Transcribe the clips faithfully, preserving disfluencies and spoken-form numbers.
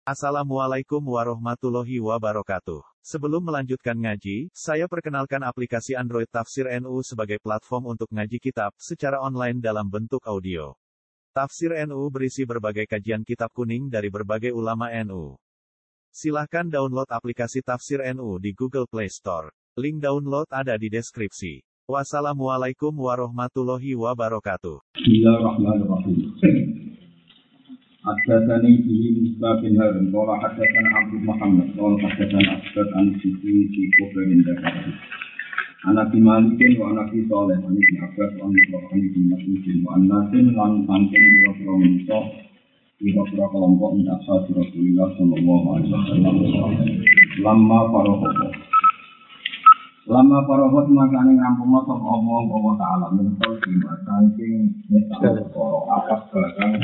Assalamualaikum warahmatullahi wabarakatuh. Sebelum melanjutkan ngaji, saya perkenalkan aplikasi Android Tafsir N U sebagai platform untuk ngaji kitab secara online dalam bentuk audio. Tafsir N U berisi berbagai kajian kitab kuning dari berbagai ulama N U. Silahkan download aplikasi Tafsir N U di Google Play Store. Link download ada di deskripsi. Wassalamualaikum warahmatullahi wabarakatuh. Bismillahirrahmanirrahim. Haddatsani bihi Musa bin Harun qala haddatsana Abdul Muhammad qala haddatsana Asbad an Siti fi Qubrin Dakar. Ana bi Malikin wa ana bi Saleh an Ibnu Abbas an Ibrahim bin Mas'ud wa an-nasin lan tangken biro-biro manusa biro-biro kelompok min ashab Rasulullah sallallahu alaihi wasallam. Lama paroho Lama paroho makane ngampungna sapa Allah wa taala mental di saking nyesal karo atas barang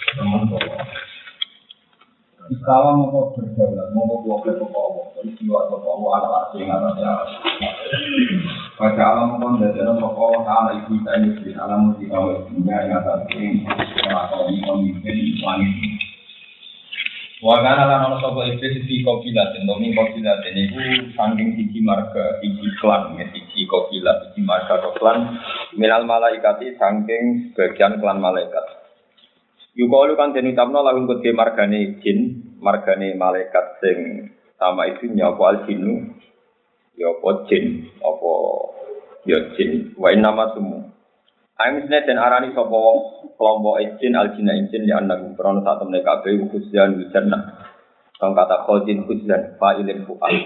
Istawa mau berdaulat, mau blokir pokok, istiwa pokok ala asing ala pada alam kondensator pokok ala ibu tadi di alam musik awal hingga yang tadi atau di komisi wanit. Wakana lan ana sapa iblis di kopilat, nomi kopilat niku saking siji marga, siji klan, siji kopilat, siji marga klan minal malaikati saking sebagian klan malaikat. Yukalu kan den utamna lagu kedhe margane jin, margane malaikat sing sama isinya apa al-jinnu ya apa jin, apa ya jin, wa inama sumu. Amisne den arani sapa wong kelompok jin al-jinna jin ya anak krono sak temne kabeh khusyan jannah. Kang kata khazin khusyan fa'ilin fu'al.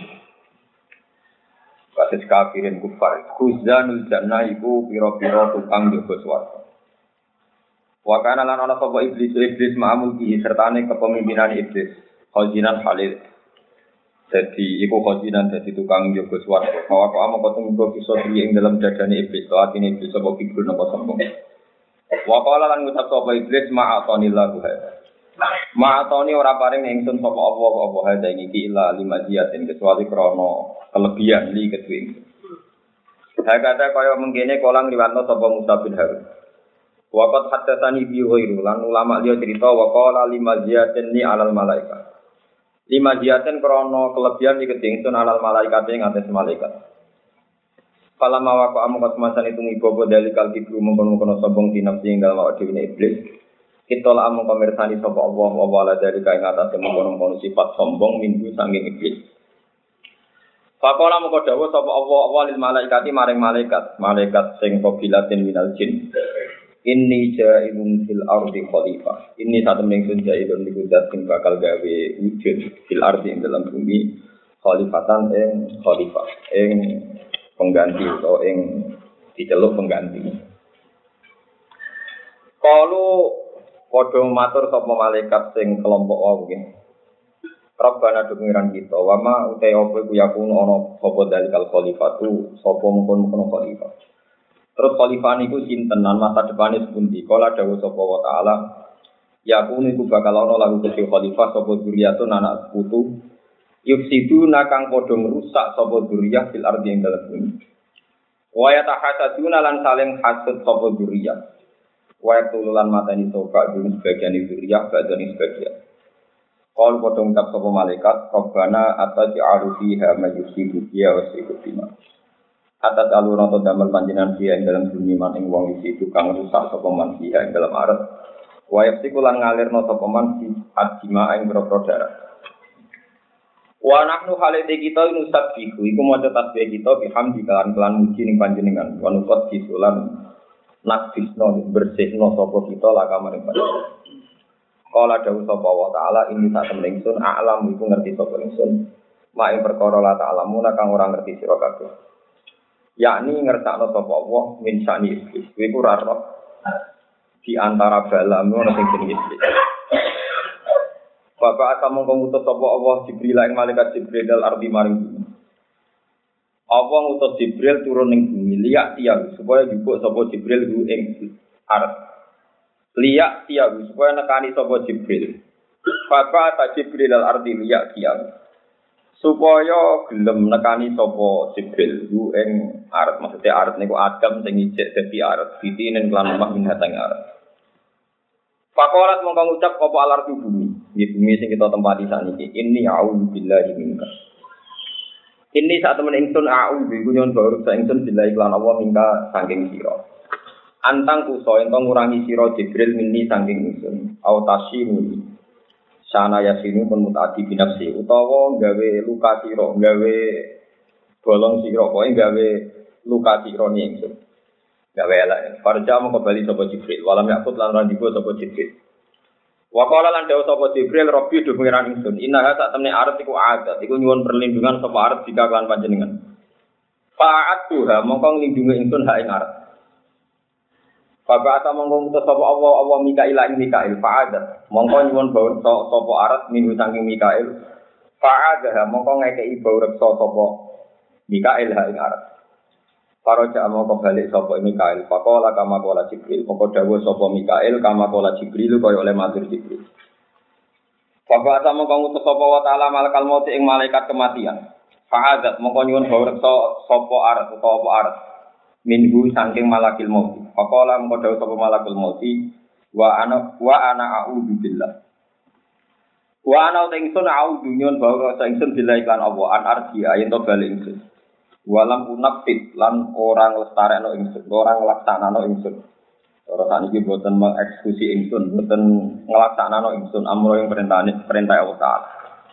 Kados kafirin kufar. Khuzanul jannah iku pira-pira tukang jaga swarga. Wakana lan ana sapa iblis iblis ma'amul ki sertane kepemimpinan iblis khazinan Khalid. Dadi iku khazinan dadi tukang jaga swarga. Bahwa kok amung ketemu bisa diri ing dalam dadane iblis, atine iblis sapa kibul napa sombong. Wakala lan ngucap sapa iblis ma'atonillahu hadza. Ma'atoni ora paring ingsun sapa apa apa hadza iki illa lima jiatin kecuali krana kelebihan li kedue. Hakata kaya mengkene kolang liwatno sapa Musa bin Harun. Waqat haddatsani bi ghairu lan ulama liya cerita wa qala lima ziyatin ni alal malaikat. Lima ziyatin krana kelebihan iki dingsun alal malaikat ing atas malaikat. Kala mawa amu kasmasan itu ngibobo dalikal kibru mengkono-kono sombong dinafsi ing dalem awake dhewe iblis. Kita la amu pamirsani sapa Allah wa wala dari kae ngatas mengkono-kono sifat sombong minggu saking iblis. Faqala moko dawuh sapa Allah walil malaikati maring malaikat, malaikat sing qabilatin minal jin. Inni ja'ilun fil ardi khalifah. Ini satu mengsun ja'ilun niku zat sing bakal gawe wujud fil ardi ing dalam bumi khalifatan ing khalifah ing pengganti atau ing diceluk pengganti. Kalau padha matur sapa malaikat sing kelompok wae nggih. Rabbana pengiran kita wa ma utai apa iku yakun ana sapa dalikal khalifatu sapa mungkon-mungkon khalifah. Terus khalifah niku sinten lan masa depane sepundi? Kala dawuh sapa wa taala, ya kuniku bakal ana lagu kedhe khalifah sapa dzurriyyatun anak putu. Yufsiduna kang padha ngrusak sapa dzurriyyah fil ardi ing dalem bumi. Wa yatahasaduna lan saling hasud sapa dzurriyyah. Wa yaqululan matani sapa dene sebagian dzurriyyah badani sebagian. Qul padha ngucap sapa malaikat, Rabbana ataj'alu fiha mayyusidu ya wasikutima. Atas alur atau damel panjenengan dia ing dalam bumi man ing wong iki tukang rusak sapa man dia ing dalam aret. Wa yafsikulan ngalirno sapa man si adima ing boro darah. Wa nahnu halite kita nusabbihu iku maca tasbih kita bihamdi kalan kelan muji ning panjenengan. Wa nuqat disulan nakdisno bersihno sapa kita lakamaring panjenengan. Kala dawuh sapa wa taala ini sak temen ingsun a'lam iku ngerti sapa ingsun. Mak ing perkara la ta'lamuna kang ora ngerti sira kabeh. Yakni ngertakno sapa Allah min sani iblis. Iku ora roh di antara balamu ana sing jenenge iblis. Bapak atamung ngutus sapa Allah Jibril ing malaikat Jibril dal ardi maring bumi. Allah ngutus Jibril turun ning bumi liyak tiang supaya jupuk sapa Jibril ku ing arep. Liyak tiang supaya nekani sapa Jibril. Bapak ta Jibril dal ardi liyak tiang. Supaya gelem nekani sapa Jibril ku ing aret, maksudnya aret niku Adam sing ijek dadi aret, ditinen kelan omah minhatang aret. Pakolat mongko ngucap apa alar bumi. di bumi sing kita tempati saniki. Inni a'udzu billahi minka. Ini saat temen ingsun a'udzu iku nyon baru sa ingsun billahi lan Allah minka saking sira. Antang kuso ento ngurangi sira Jibril minni saking ingsun. Au tasyimu. Sana yasinu pun mutadi binafsi utawa gawe luka sira, gawe bolong sira, kowe gawe luka sira ni ingsun. Gawe elek. Farja mung kembali sapa Jibril. Walam yakut lan randiku sapa Jibril. Wa qala lan dawuh sapa Jibril Rabbi do pengiran ingsun innaha sak temne arep iku adat iku nyuwun perlindungan sapa arep jika kan panjenengan fa'atuha mongko nglindungi ingsun hak ing arep Bapak ata mongko ngutus sapa Allah Allah Mikail ing Mikail fa'adat mongko nyuwun bawur sapa arep minu saking Mikail fa'adaha mongko ngekeki bawur sapa Mikail hak ing arep Para jamaah kembali sapa Mikail, faqala kama qala Jibril, mongko dawuh sapa Mikail kama qala Jibril kaya oleh matur Jibril. Bapak sama kang utus sapa wa taala malakal maut ing malaikat kematian. Fa'adat mongko nyuwun bawreksa sapa arat utawa apa arat. Minhu saking malakil maut. Faqala mongko dawuh sapa malakul maut wa ana wa ana a'udzu billah. Wa ana ingsun a'udzu nyuwun bawreksa ingsun billah iklan Allah an arji ayen to bali ingsun. Walam unafit lan orang lestarekno ingsun, orang nglaksanakno ingsun. Ora saniki boten mengeksekusi ingsun, boten nglaksanakno ingsun amro ing perintahane perintah Allah Taala.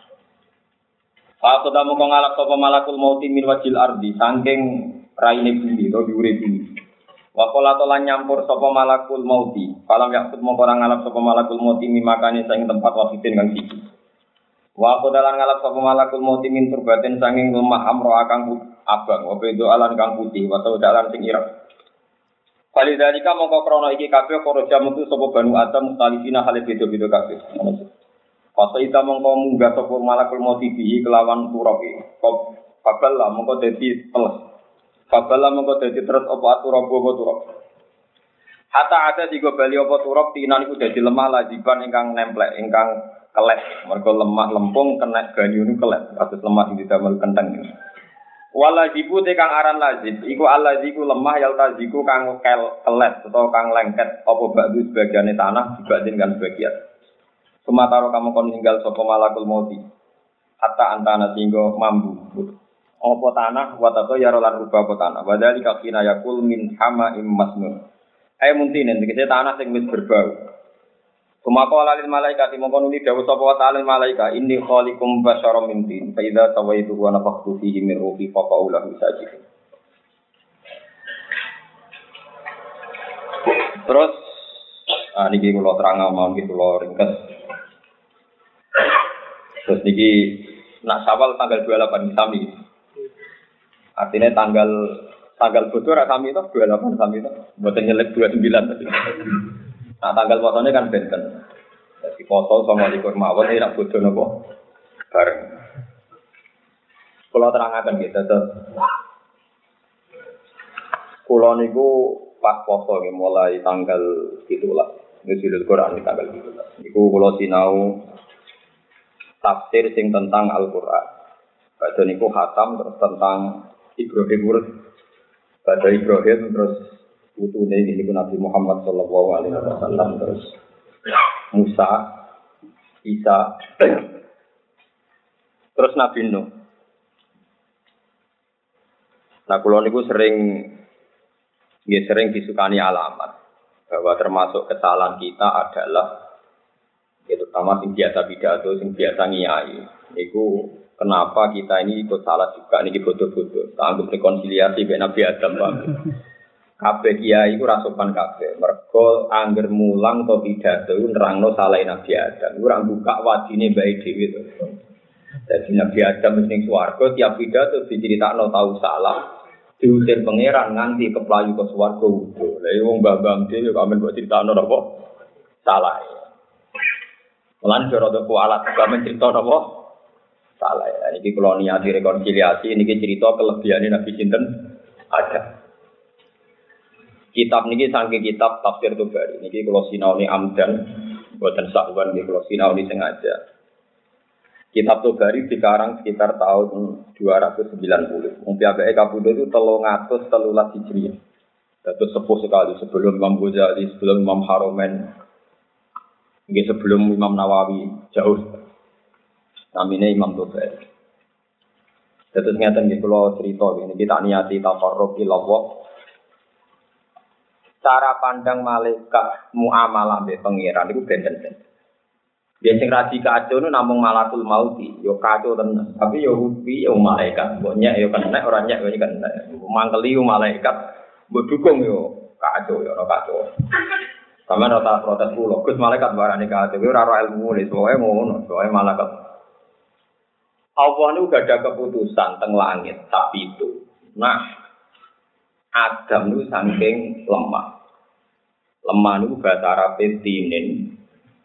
Fa qadamu kang ngalap sapa malakul mauti min wajil ardi saking raine bumi to diure bumi. Wa qala lan nyampur sapa malakul mauti, falam yakut mongko ora ngalap sapa malakul mauti mimakane saing tempat wafidin kang siji. Wa qadalan ngalap sapa malakul mauti min turbatin saking lemah amro akang abang, wabe itu alan kang putih, watau dalan sing ireng. Kali dari kamu kau krono iki kafe koroja mutu sopo banu adam mutalifina hal bedo bedo kafe. Pas itu mongko munggah sopo malakul motibi kelawan turoki. Kau kabel lah mongko jadi peles. Kabel lah mongko jadi terus opo turok opo turok. Hatta ada tiga bali opo turok tinan iku jadi lemah lajiban ingkang nemplek ingkang kelet. Mergo lemah lempung kena ganyu nu kelet. Kados lemah sing didamel kenteng. Walajibu te kang aran lazib iku alaziku lemah yal taziku kang kel kelet utawa kang lengket apa bakdu sebagiane tanah dibanding kan sebagian. Sumataro kamu kon ninggal sapa malakul mauti. Hatta antana singgo mambu. Apa tanah watato ya rolan rubah apa tanah. Wadali kakina yakul min hama im masnun. Ayo muntinen tegese tanah sing wis berbau. Sumako alalil malaikat mongko nuli dawuh sapa wa ta'ala malaika inni khaliqum basyaram min tin fa idza tawaitu wa nafakhtu fihi min ruhi fa qaulah sajid. Terus ah niki kula terang mawon iki kula ringkes. Terus niki nak Syawal tanggal dua puluh delapan sami. Artinya tanggal tanggal bodoh ra sami to dua puluh delapan sami to. Mboten nyelek dua puluh sembilan tadi. Nah tanggal posone kan benten. Jadi foto sama likur mawon ini nak bodoh nopo bareng. Kalau terangaken gitu terus. Kulo niku pas foto nggih mulai tanggal itulah. Nusul Quran di tanggal itulah. Niku kulo sinau tafsir sing tentang Al-Qur'an. Badhe niku khatam terus tentang Ibrahim urut. Badhe Ibrahim terus putune ini pun Nabi Muhammad sallallahu alaihi wasallam terus Musa, Isa, terus Nabi Nuh. Nah, kula niku sering nggih sering disukani alamat bahwa termasuk kesalahan kita adalah itu terutama sing biasa pidato, sing biasa ngiyai. Niku kenapa kita ini ikut salah juga niki bodoh-bodoh. Anggap rekonsiliasi ben Nabi Adam, Pak. Kabeh kiai iku ra sopan kabeh. Mergo angger mulang to pidato nerangno salah Nabi Adam. Ora buka wadine bae dhewe to. Dadi Nabi Adam ning swarga tiap pidato diceritakno tau salah. Diusir pangeran nganti keplayu ke swarga udo. Lah wong mbah-mbah dhewe kok amen kok critakno apa? Salah. Lan cara to kualat kok amen critakno apa? Salah. Niki kula niati rekonsiliasi niki cerita kelebihane Nabi sinten Adam. Kitab niki saking kitab tafsir Tabari niki kula sinaoni amdan boten sahwan niki kula sinaoni sengaja. Kitab Tabari dikarang sekitar tahun dua ratus sembilan puluh. Wong piyambake kapundhut itu telung atus telulas Hijriah. Dados sepuh sekali sebelum Imam Ghazali, sebelum Imam Haromen. Nggih sebelum Imam Nawawi jauh. Namine Imam Tufel. Terus ngeten nggih kula cerita ini kita niati taqarrub ila Allah. Cara pandang malaikat muamalah mbek pangeran niku benten-benten. Yen sing radi kacau nu namung malakul mauti, yo kacau tenan. Tapi yo rupi yo malaikat, mbok nyek yo kena ora nyek yo kena. Mangkeli yo malaikat, mbok dukung yo kacau yo ora kacau. Sampeyan ora protes kula, Gus malaikat barane kacau, yo ora ora ilmu ne, soe ngono, soe malaikat. Allah niku gak ada keputusan teng langit, tapi itu. Nah, Adam niku saking lemah. Lemah niku bahasa Arab tinin.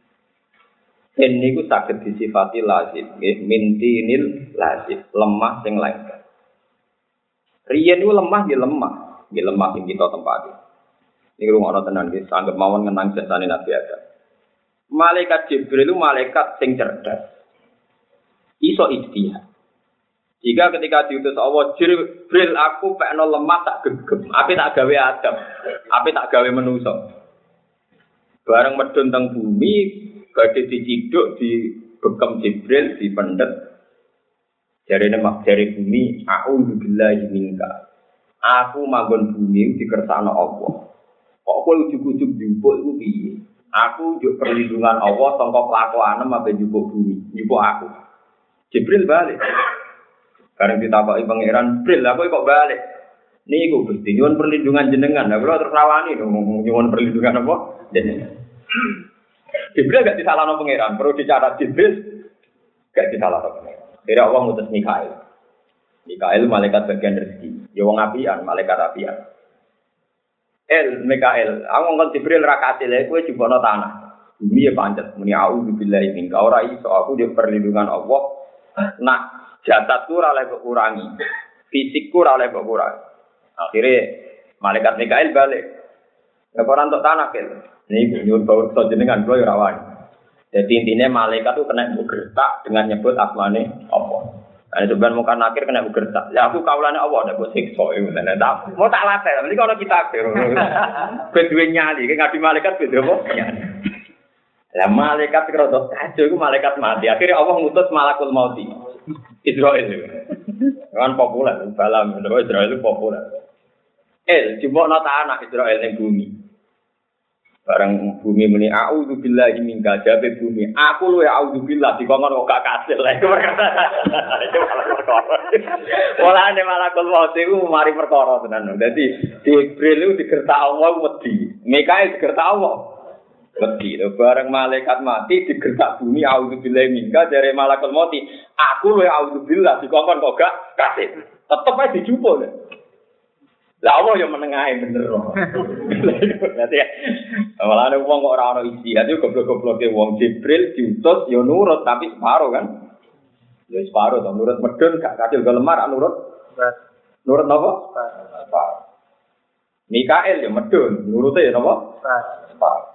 Tin niku saged disifati lazim, nggih, mintinil lazim, lemah sing lengket. Riyen niku lemah nggih lemah, nggih lemah sing kita tempati. Niku ngono tenan nggih, sanggep mawon ngenang jasane Nabi Adam. Malaikat Jibril itu malaikat sing cerdas. Iso ijtihad. Jika ketika diutus Allah, Jibril aku pekno lemah tak gegem, ape tak gawe Adam, ape tak gawe manusa. Bareng medun teng bumi badhe diciduk di bekem Jibril di pendet jarene mak jare bumi a'udzu billahi minka aku manggon bumi dikersakno Allah kok kowe ujug-ujug njupuk iku piye aku njuk perlindungan Allah saka kelakuanem ape njupuk bumi njupuk aku Jibril balik bareng ditakoki pangeran Jibril aku kok balik niku Gusti nyuwun perlindungan jenengan lha kula terus rawani nyuwun perlindungan apa jenengan Jibril gak disalahno pangeran, perlu dicatat Jibril gak disalahno pangeran. Kira Allah ngutus Mikail. Mikail malaikat bagian rezeki. Ya wong apian, malaikat apian. El Mikail, aku ngkon Jibril ra kasile kowe jubono tanah. Bumi ya pancet muni auzu billahi minka ora iso aku di perlindungan Allah. Nah, jasadku ora oleh kurangi. Fisikku ora oleh kurangi. Akhire malaikat Mikail balik. Laporan untuk tanah kel. Ini nyuwun bawa jenengan kula ora wani. Jadi intinya malaikat itu kena bergerak dengan nyebut asmane Allah. Nah sebenarnya mungkin akhir kena bergerak. Ya aku kaulane Allah ndak mbok siksa iku ngene. Mau tak latih, mriki ana kitab. Kedue nyali, ki ngadi malaikat beda apa? Lah malaikat kira kacau iku malaikat mati. Akhirnya Allah ngutus malakul mauti. Israil. Kan populer, balam Israil itu populer. El, jupukno tanah Israil ning bumi. Barang bumi muni a'udzu billahi minka jabe bumi aku luwe a'udzu billah dikongkon kok gak kasil lha iku malah perkara walane malah kul maut iku mari perkara tenan dadi Jibril itu digertak Allah wedi Mikail digertak Allah wedi bareng malaikat mati digertak bumi a'udzu billahi minka jare malakul maut aku luwe a'udzu billah dikongkon kok gak kasil tetep ae dijupuk lah Allah yang menengahe bener. Berarti ya. Malah ada wong kok ora ono isi, ati goblok-gobloke wong Jibril diutus ya nurut tapi separo kan. Ya separo to nurut medun gak kadil lemar nurut. Nurut napa? Separo. Mikail ya medun, nurute ya napa? Separo.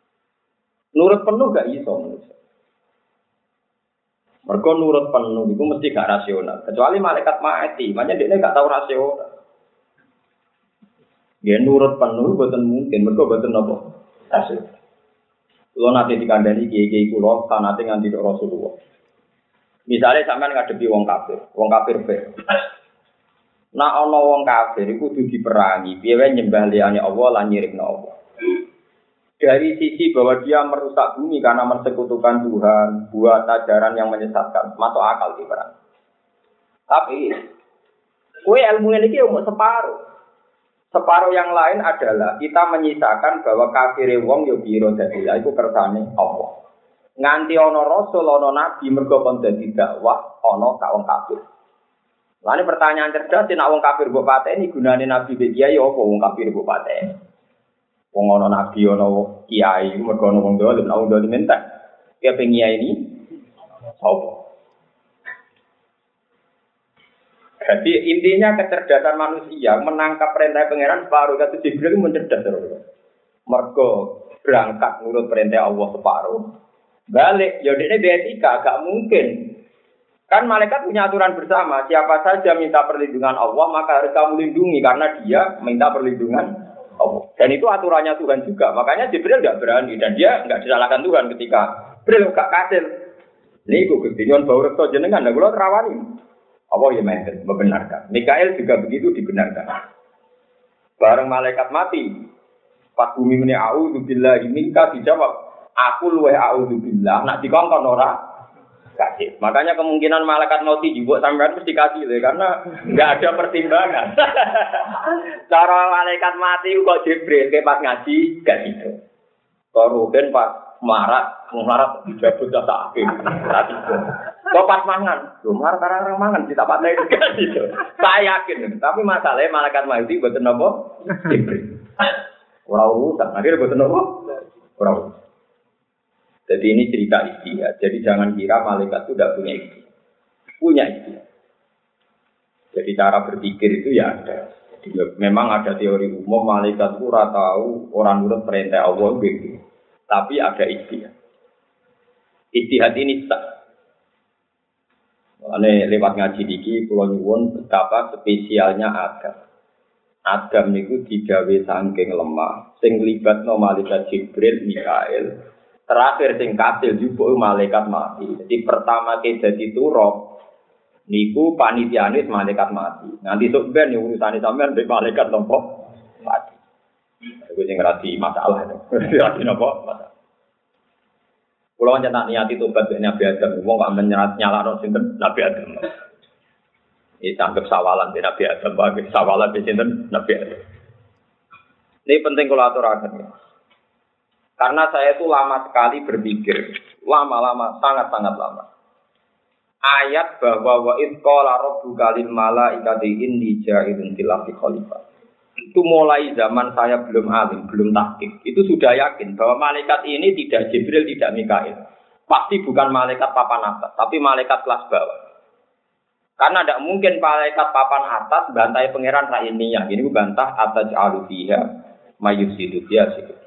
Nurut penuh gak iso manusia. Mergo nurut penuh iku mesti gak rasional, kecuali malaikat mati, makanya dekne gak tau rasional. Ya nurut penuh boten mungkin, mergo boten napa? Rasul. Kulo nate dikandani kiai-kiai kula sanate nganti Rasulullah. Misale sampean ngadepi wong kafir, wong kafir be. Nek ana wong kafir iku kudu diperangi, piye wae nyembah liyane Allah lan nyirikno Allah. Dari sisi bahwa dia merusak bumi karena mensekutukan Tuhan, buat ajaran yang menyesatkan, masuk akal diperang. Tapi kowe ilmu iki umur separuh. Separuh yang lain adalah kita menyisakan bahwa kafire wong yo biro dadi lha iku kersane Allah. Nganti ana rasul ana nabi mergo kon dadi dakwah ana ka wong kafir. Lane pertanyaan cerdas nek wong kafir mbok pateni gunane nabi be kiai apa wong kafir mbok pateni. Wong ana nabi ana kiai mergo ana wong dolim ana wong dolim entek. Ya pengiai ini apa? Jadi intinya kecerdasan manusia menangkap perintah pangeran separuh kata Jibril itu mencerdas terus. Mergo berangkat nurut perintah Allah separuh. Balik, ya ini betika, gak mungkin. Kan malaikat punya aturan bersama, siapa saja minta perlindungan Allah maka harus kamu lindungi karena dia minta perlindungan Allah. Dan itu aturannya Tuhan juga. Makanya Jibril nggak berani dan dia nggak disalahkan Tuhan ketika Jibril gak kasil. Ini gue ketinggian bau rekto jenengan, dan gue terawani. Allah ya mainkan, membenarkan. Mikael juga begitu dibenarkan. Bareng malaikat mati, pas bumi ini a'udzubillah ini kan dijawab, aku luweh a'udzubillah. Nak dikongkon ora kasih. Makanya kemungkinan malaikat mati juga sampean mesti kasih deh, karena nggak ada pertimbangan. Cara malaikat mati kok Jibril ke pas ngaji gak gitu. Koruben pas marat, marat dijabut jasa akhir. Tadi kok pas mangan, lu marat orang mangan kita pakai gitu. Saya yakin, tapi masalahnya malaikat mati buatan apa? Jibril. Orang urusan, akhirnya buatan apa? Orang urusan. Jadi ini cerita istihad. Jadi jangan kira malaikat itu tidak punya istihad. Punya istihad. Jadi cara berpikir itu ya ada. Jadi memang ada teori umum malaikat itu ora tahu orang nurut perintah Allah begitu. Tapi ada istihad. Istihad ini sah. Ini lewat ngaji diki, kula nyuwun betapa spesialnya Adam. Adam niku digawe saking lemah, sing libatno malaikat Jibril, Mikael. Terakhir sing kasil juga malaikat mati. Jadi pertama ke jadi turok niku panitiane malaikat mati. Nanti sok ben urusane sampean mbek malaikat nopo mati. Iku sing ngerti masalah itu. Ngerti nopo masalah. Kulo nyetak niat tobat mbek Nabi Adam, wong kok menyerat nyalano sinten Nabi Adam. Iki tanggap sawalan mbek Nabi Adam, bagi sawalan mbek sinten Nabi Adam. Ini penting kula aturaken ya. Karena saya itu lama sekali berpikir, lama-lama, sangat-sangat lama. Ayat bahwa wa id qala rabbuka lil malaikati inni ja'ilun fil ardi khalifah. Itu mulai zaman saya belum alim, belum tahqiq. Itu sudah yakin bahwa malaikat ini tidak Jibril, tidak Mikail. Pasti bukan malaikat papan atas, tapi malaikat kelas bawah. Karena tidak mungkin malaikat papan atas bantai pangeran rainiyah. Ini bantah atas alufiha mayusidu biasa.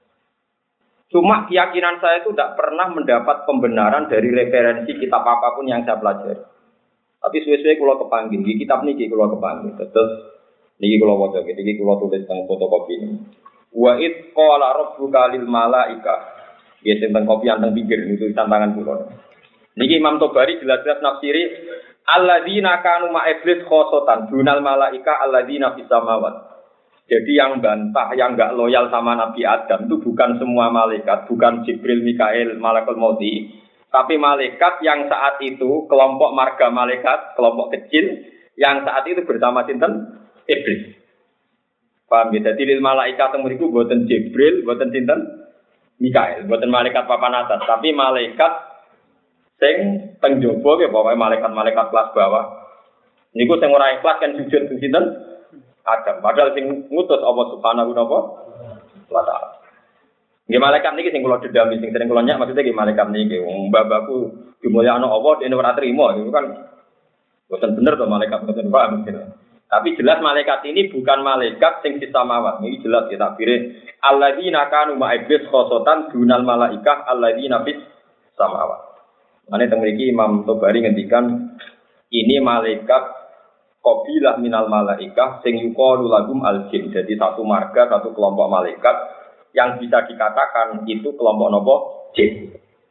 Cuma keyakinan saya itu tidak pernah mendapat pembenaran dari referensi kitab apapun yang saya pelajari. Tapi suwe-suwe kalau kepanggil, di kitab ini kalau kepanggil. Terus, ini kalau wajah, ini kalau tulis tentang fotokopi ini. Wa id qala rabbuka lil malaika. Ya tentang kopi yang tentang pinggir, itu tantangan pulau. Ini Imam Tobari jelas-jelas nafsiri. Alladzina kanu ma'iblis khosotan, dunal malaika alladzina fis samawat. Jadi yang bantah, yang enggak loyal sama Nabi Adam itu bukan semua malaikat, bukan Jibril, Mikail, Malakul Mauti, tapi malaikat yang saat itu kelompok marga malaikat, kelompok kecil yang saat itu bersama sinten Iblis. Paham ya? Jadi lil malaikat temuriku buatan Jibril, buatan sinten Mikail, buatan malaikat papan atas, tapi malaikat sing teng jaba ya pokoke malaikat-malaikat kelas bawah. Niku sing ora ikhlas kan sujud sing sinten Adam, padahal sing ngutus Allah Subhanahu wa taala. Nggih malaikat niki sing kula dedami sing sering kula nyak maksudnya nggih malaikat niki wong mbah-mbahku dimulyakno Allah dene ora trimo itu kan boten bener to malaikat boten paham mungkin. Tapi jelas malaikat ini bukan malaikat sing samawat. Niki jelas ya takbire alladzina kanu ma'iblis khosotan dunal malaikah alladzina fis samawat. Mane teng mriki Imam Tobari ngendikan ini malaikat qabilah minal malaikah sing yuqalu lagum al-jin. Jadi satu marga, satu kelompok malaikat yang bisa dikatakan itu kelompok nopo jin.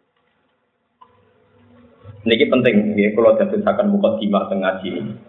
Niki penting nggih kula dadosaken mukadimah teng ngaji.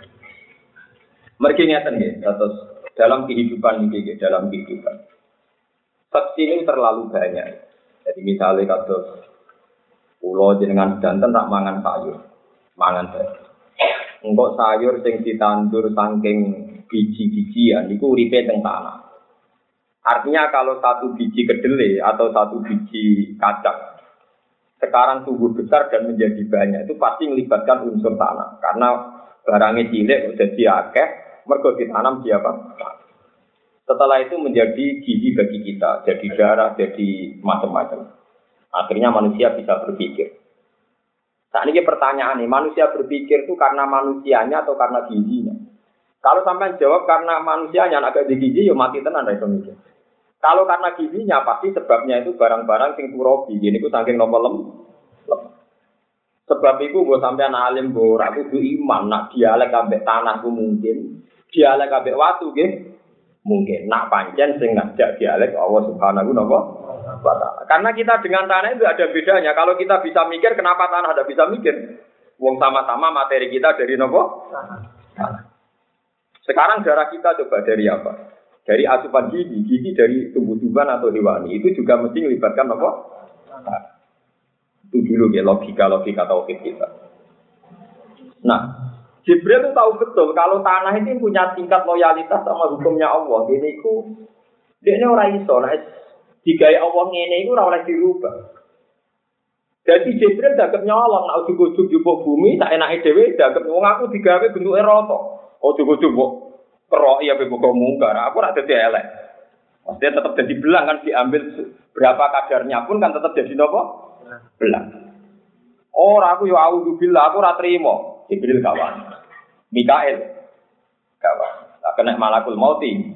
Mergi ngeten nggih, terus dalam kehidupan niki nggih, dalam kehidupan. Saksi ini terlalu banyak. Jadi misalnya kados kula jenengan danten tak mangan sayur, mangan sayur. Engkau sayur sing ditandur saking biji-bijian niku uripe teng tanah. Artinya kalau satu biji kedelai atau satu biji kacang sekarang tumbuh besar dan menjadi banyak itu pasti melibatkan unsur tanah. Karena barangnya cilik jadi akeh mergo ditanam di apa? Setelah itu menjadi gizi bagi kita, jadi darah, jadi macam-macam. Akhirnya manusia bisa berpikir. Saat ini pertanyaan nih, manusia berpikir itu karena manusianya atau karena gizinya? Kalau sampai jawab karena manusianya, agak di gizi, ya mati tenan dari mikir. Kalau karena gizinya, pasti sebabnya itu barang-barang sing turobi. Ini ku saking nopo lem. lem. Sebab itu gue sampean alim gue ragu iman, nak dialek ambek tanah gue mungkin, dialek ambek watu, gitu. Mungkin nak pancen sing ngajak dialek Allah Subhanahu wa taala. Karena kita dengan tanah itu ada bedanya. Kalau kita bisa mikir, kenapa tanah ada bisa mikir? Wong sama-sama materi kita dari nopo? Tanah. Sekarang darah kita coba dari apa? Dari asupan gizi, gizi dari tumbuh-tumbuhan atau hewani. Itu juga mesti melibatkan nopo? Tanah. Itu dulu ya logika-logika tauhid kita. Nah, Jibril itu tahu betul kalau tanah ini punya tingkat loyalitas sama hukumnya Allah. Ini itu, dia ini orang iso, nah, digawe Allah ngene iku ora oleh dirubah. Jadi Jibril dagem nyolong, nek ujug-ujug jupuk bumi, sak enake dhewe dagem wong aku digawe bentuke rata. Ujug-ujug kok kerok ya bebok mungkar, aku ora dadi elek. Maksudnya tetap jadi belang kan diambil berapa kadarnya pun kan tetap jadi napa? Belang. Ora aku yo auzubillah, aku ora trimo. Jibril kawan. Mikael kawan. Tak kena malakul mauti.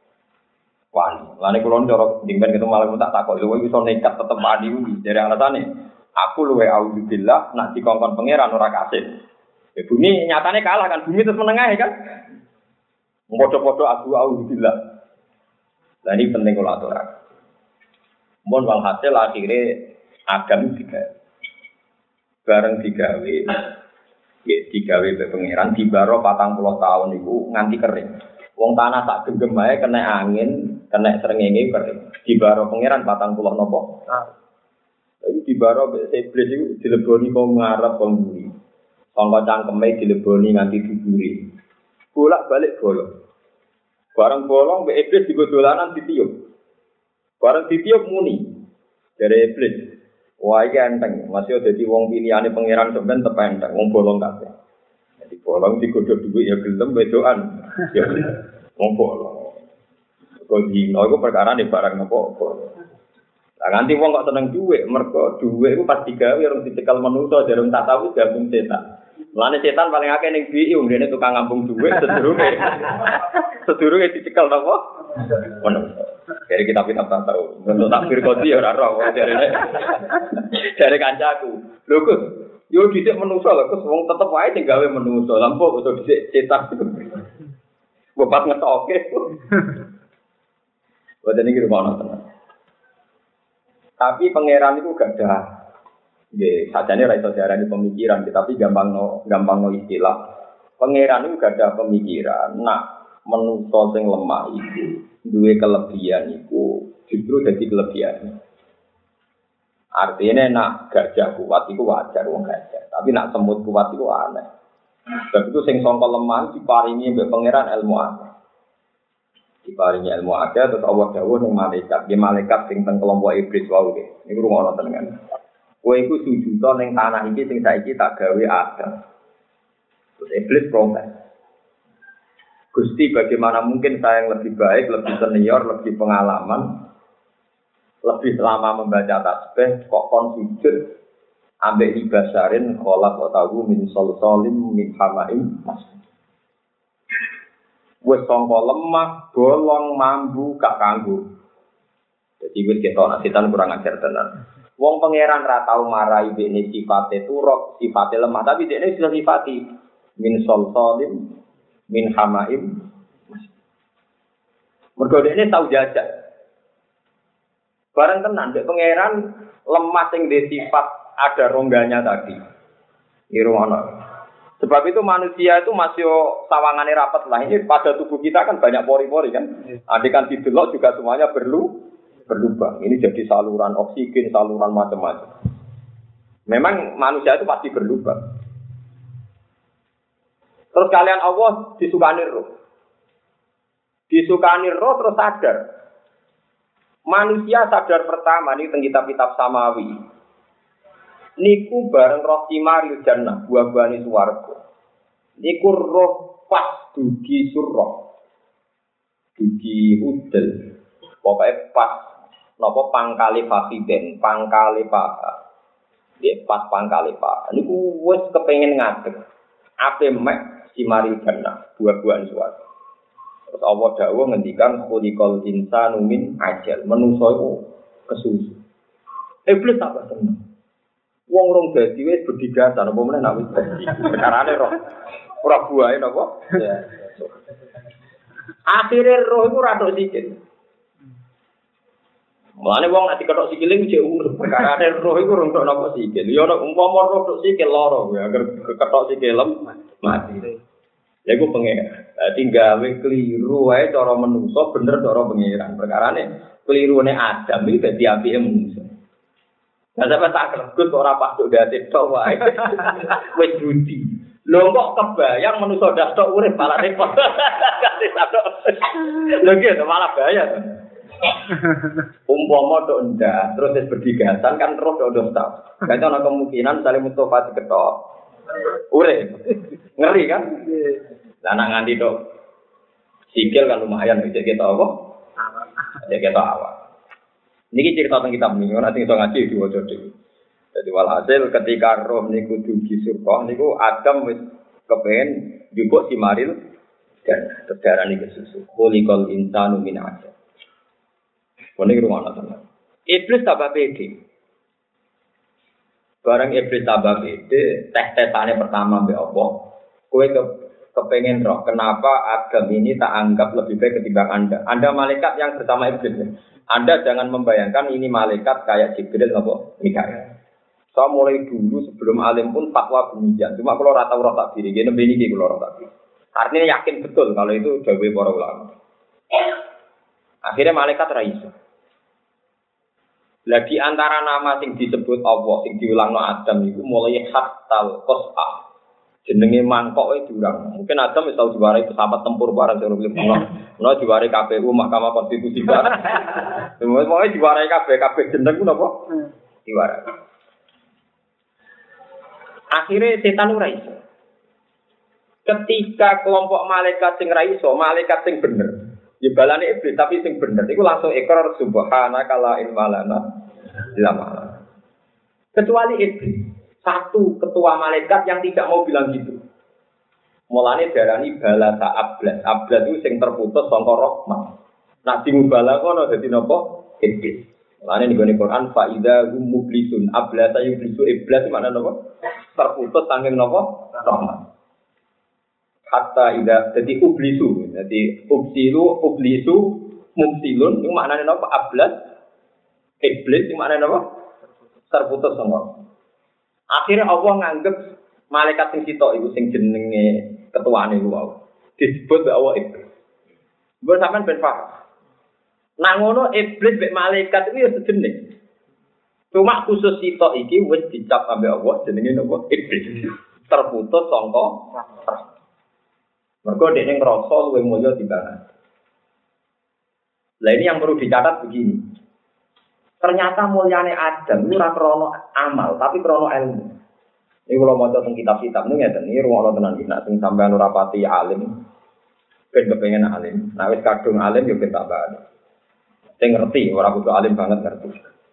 Wani. Lane kula ndoro dimben ketemu malakul tak takok lho iso nekat tetep wani kuwi. Dari alasane aku luwe auzubillah nak dikongkon pangeran ora kasih. Ya bumi nyatane kalah kan bumi terus menengah kan. Padha-padha aku auzubillah. Lah ini penting kula aturaken. Mun walhasil akhire Adam digawe. Bareng digawe ya digawe be pangeran dibaro patang puluh tahun iku nganti kering. Wong tanah sak genggam ae kena angin, kena srengenge kering. Dibaro pangeran patang puluh nopo? Ah. Iki dibaro be iblis iku dileboni kok ngarep kok mburi. Sangka cangkeme dileboni nganti diburi. Bolak-balik bolong. Bareng bolong be iblis digo dolanan ditiup. Bareng ditiup muni dari iblis. Wah iki enteng, masih dadi wong pilihane pangeran sampean tepe enteng, wong bolong kabeh. Jadi bolong digodho dhuwit ya gelem wedokan. Ya wong bolong. Kok dino iku perkara nek barang apa-apa. Lah nganti wong kok seneng dhuwit, mergo dhuwit iku pas digawe orang dicekel manusa jarung tak tahu gabung setan. Mulane setan paling akeh ning B I umrene tukang ngambung dhuwit sedurunge. Sedurunge dicekel napa? Manusa. Dari kitab-kitab tak tahu. Untuk takbir kodi ya ora roh dari dari kancaku. Lho Gus, yo dhisik menungso lho Gus wong tetep wae sing gawe menungso. Lampu kok dhisik cetak. Bobat ngetoke. Boten iki rumono tenan. Tapi pangeran itu gak ada. Nggih, sajane ra iso diarani pemikiran, tapi gampangno gampangno istilah. Pangeran itu gak ada pemikiran. Nah, menungso sing lemah itu duwe kelebihan iku justru jadi kelebihan. Artinya nak gajah kuat iku wajar wong gajah, tapi nak semut kuat iku aneh. Sebab itu sing sangka lemah diparingi mbek pangeran ilmu akeh. Diparingi ilmu akeh terus Allah dawuh ning malaikat, nggih malaikat sing teng kelompok iblis wae nggih. Niku rungono tenan. Kowe iku sujud ning tanah iki sing saiki tak gawe Adam. Terus iblis protes. Gusti, bagaimana mungkin saya yang lebih baik, lebih senior, lebih pengalaman, lebih lama membaca tasbih, kok kon sujud, ambek ibasarin, kolak otahu min sol solim min hamaim mas. Wes sangka lemah, bolong, mambu, gak kanggo. Jadi wis ketok setan kurang ajar tenan. Wong pangeran ra tau marahi dene sifate turok, sifate lemah, tapi dene sudah sifati min sol solim min hamaim. Mergo dene tau jajak. Bareng tenan dek pangeran lemah sing dhe sifat ada rongganya tadi. Irwana. Sebab itu manusia itu masih sawangane rapat lah. Ini pada tubuh kita kan banyak pori-pori kan. Andai kan didelok juga semuanya berlu berlubang. Ini jadi saluran oksigen, saluran macam-macam. Memang manusia itu pasti berlubang. Terus kalian Allah disukani roh. Disukani roh terus sadar. Manusia sadar pertama ini teng kitab-kitab samawi. Niku bareng roh simaril jannah, buah-buahane swarga. Niku roh pas dugi surah. Dugi udel. Pokoke pas napa pangkale fasiden, pangkale paha. Nggih, pas pangkale paha. Niku wis kepengin ngadeg. Ape mek Simari jannah, buah-buahan suara. Terus Allah dawuh ngendikan kulikol insanu min ajal, menungso iku kesusu. Iblis apa seneng? Wong rong dadi wis bedigatan apa meneh nak wis dadi. Perkarane roh. Ora buahe napa? Ya. Akhire roh iku ra tok sikil. Mulane wong nek diketok sikile ku jek urip perkarane roh iku rung tok napa sikil. Ya nek umpama roh tok sikil lara ya agar ketok sikilem mati. Lha iku pengen. Dadi gawe kliru wae cara menungso bener cara pengiran. Perkarane klirune Adam iki dadi apike menungso. Lah sampe tak greget kok ora pas tok dadi tok wae. Wis budi. Lho kok kebayang menungso dak tok urip malah repot. Kasih tok. Lho iki malah bahaya. Umpama tok ndak terus wis berdigasan kan roh tok tok. Kan ana kemungkinan saling mutofa diketok. Urip. Ngeri kan? Lah nak nganti tok sikil kan lumayan bisa kita apa? Ya kita awak. Niki cerita tentang kitab niku nanti kita ngaji diwaca dhewe. Jadi walhasil ketika roh niku dugi surga niku Adam wis kepengin njupuk simaril dan terdarani kesusu. Khuliqal insanu min ajab. Kene rumono tenan. Iblis tambah pede. Barang iblis tambah pede, tes-tesane pertama mbek apa? Kowe ke kepengen roh, kenapa Adam ini tak anggap lebih baik ketimbang Anda? Anda malaikat yang bersama iblis. Anda jangan membayangkan ini malaikat kayak Jibril apa Mikail. Saya mulai dulu sebelum alim pun fatwa demikian. Cuma kalau rata roh tak diri, gini begini kalau roh tak diri. Artinya yakin betul kalau itu dawuh para ulama. Akhirnya malaikat raiso. Lagi antara nama sing disebut Allah, sing diulangno Adam itu mulai hatal qas'a. Jenenge mangkok itu durang. Mungkin Adam wis tau diwarai pesawat tempur bareng sing urip ono. Ono diwarai K P U Mahkamah Konstitusi bareng. Semono diwarai kabeh kabeh jeneng ku napa? Diwarai. Akhirnya setan ora iso. Ketika kelompok malaikat sing ra iso, malaikat sing bener. Ya balane iblis tapi sing bener iku langsung ikrar subhanaka la ilma lana illa ma. Kecuali iblis. Satu ketua malaikat yang tidak mau bilang gitu. Mulane darani balasa ablas. Ablas itu sing terputus saka rahmat. Nak dimubala kono dadi napa? Iblis. Mulane ning Quran fa idza hum mublisun ablasa yublisu iblis makna napa? Terputus saking napa? Rahmat. Hatta idza dadi ublisu. Dadi ubsilu ublisu mumsilun itu maknane napa? Ablas iblis itu maknane napa? Terputus saka. Akhirnya Allah nganggep malaikat sing sitok iku sing jenenge ketuane iku wae. Disebut Allah iblis. Mbok sampean ben paham. Nang ngono iblis mek malaikat iki ya sejenis. Cuma khusus sitok iki wis dicap ambek Allah jenenge napa? Iblis. Terputus sangka mergo dekne ngrasa luwih mulya timbang. Lah ini yang perlu dicatat begini. Ternyata mulyane Adam itu ora krono amal, tapi krono ilmu. Ini kalau maca teng kitab-kitab niku ngeten, iki rumono tenan iki nek sing sampean ora pati alim, ben kepengin alim. Nek wis kadung alim yo ben tambah. Sing ngerti, ora kudu alim banget ngerti.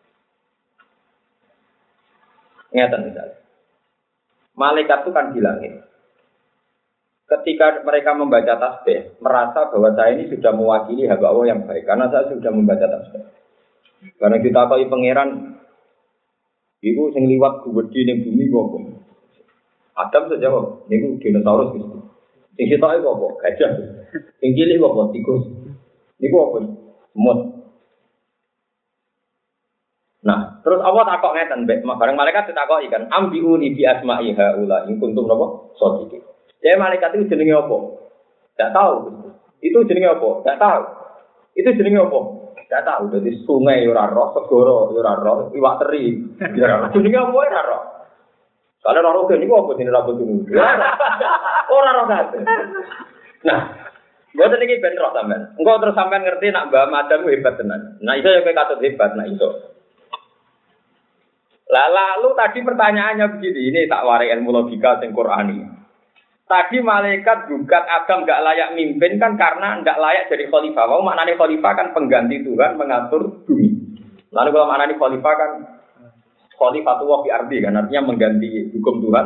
Ngeten misalnya. Malaikat itu kan bilang ini. Ketika mereka membaca tasbih, merasa bahwa saya ini sudah mewakili hamba Allah yang baik karena saya sudah membaca tasbih. Karena kita tahu pangeran itu sing liwat gede ning bumi kok. Adam saja kok niku dinosaurus gitu. Sing sitoke kok apa? Gajah. Sing cilik kok apa? Tikus. Niku apa? Semut. Nah, terus Allah takok ngeten, mbek bareng malaikat ditakoki kan, ambiuni bi asma'i haula in kuntum napa? Sadiqin. Ya malaikat itu jenenge apa? Enggak tahu. Itu jenenge apa? Enggak tahu. Itu jenenge apa? Enggak tahu. Dadi sungai ora roh, segara ora roh, iwak teri ora roh. Jenenge apa ora roh? Kalau ora roh niku apa jenenge rambut niku? Ora roh kabeh. Nah, mboten iki ben roh sampean. Engko terus sampean ngerti nak Mbah Madam hebat tenan. Nah, iso ya kowe katut hebat, nah iso. Lah lalu tadi pertanyaannya begini, ini tak warai ilmu logika sing Qur'ani. Tadi malaikat gugat Adam enggak layak mimpin kan karena enggak layak jadi khalifah. Mau maknanya khalifah kan pengganti Tuhan mengatur bumi. Lalu kalau maknanya khalifah kan khalifatullah fi ardi kan artinya mengganti hukum Tuhan.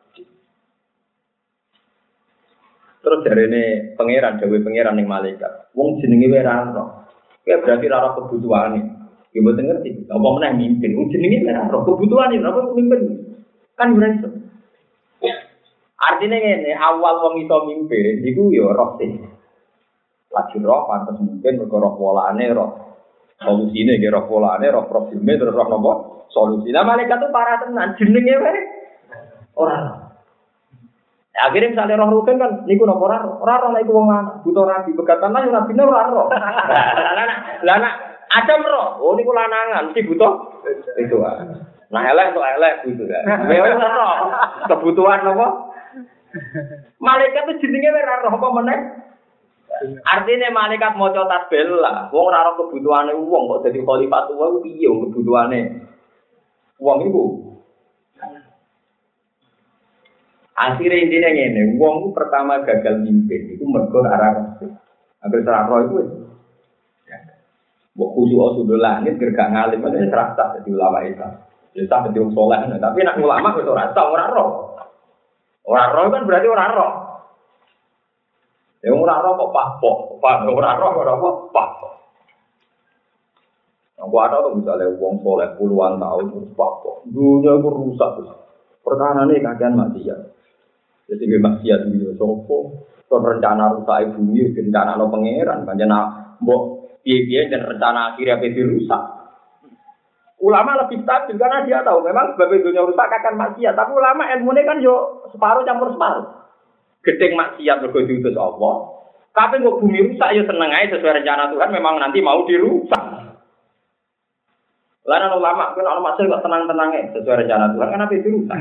Terus jarene pangeran, dawuh pangeran ning malaikat. Wong jenenge wae ra ono. Kayak berarti ora kebutuhane. Ya mboten ngerti. Apa meneh mimpin? Wong jenenge ora ono kebutuhane, ora mimpin. Kan berarti artinya ngene, awal wong iso mimpin iku ya roh sih. lagi roh pantes mungkin mergo roh polane roh solusine nggih roh polane roh probleme terus roh napa solusi. Lah malaikat itu para tenan jenenge wae ora. Akhirnya misalnya roh rugen kan, niku nopo ora roh, ora roh niku wong lanang, butuh rabi, begatan lah ora bina ora roh. Lah nak ada roh, oh niku lanangan, mesti butuh itu. Nah elek untuk elek gitu ya. Memang ora roh, kebutuhan apa? Malaikat itu jenenge ora roh apa meneh? Artinya malaikat maca tasbih lah, wong ora roh kebutuhane wong kok dadi khalifat wong piye kebutuhane wong iku. Akhirnya intinya ngene, wong pertama gagal mimpin itu mergo arah hampir serah roh itu. Mbok kudu sudah langit gergak ngalim itu serasa jadi ulama itu. Ya tak jadi soleh, tapi nak ulama itu ora tau ora roh. Ora roh kan berarti ora roh. Ya ora roh kok pahpo, pak ora roh ora apa pahpo. Aku ada tuh misalnya wong soleh puluhan tahun terus pahpo. Dunia itu rusak. Pertahanannya kakean maksiat. Jadi gue maksiat video sopo, terus rencana rusak bumi, rencana lo pangeran, rencana mbok piye-piye dan rencana akhirnya pasti rusak. Ulama lebih stabil karena dia tahu memang sebab dunia rusak akan maksiat, tapi ulama ilmunya kan yo separuh campur separuh. Gedeng maksiat mergo diutus Allah, tapi kok bumi rusak yo seneng aja sesuai rencana Tuhan memang nanti mau dirusak. Lain ulama kan orang masih kok tenang-tenangnya sesuai rencana Tuhan kenapa itu rusak?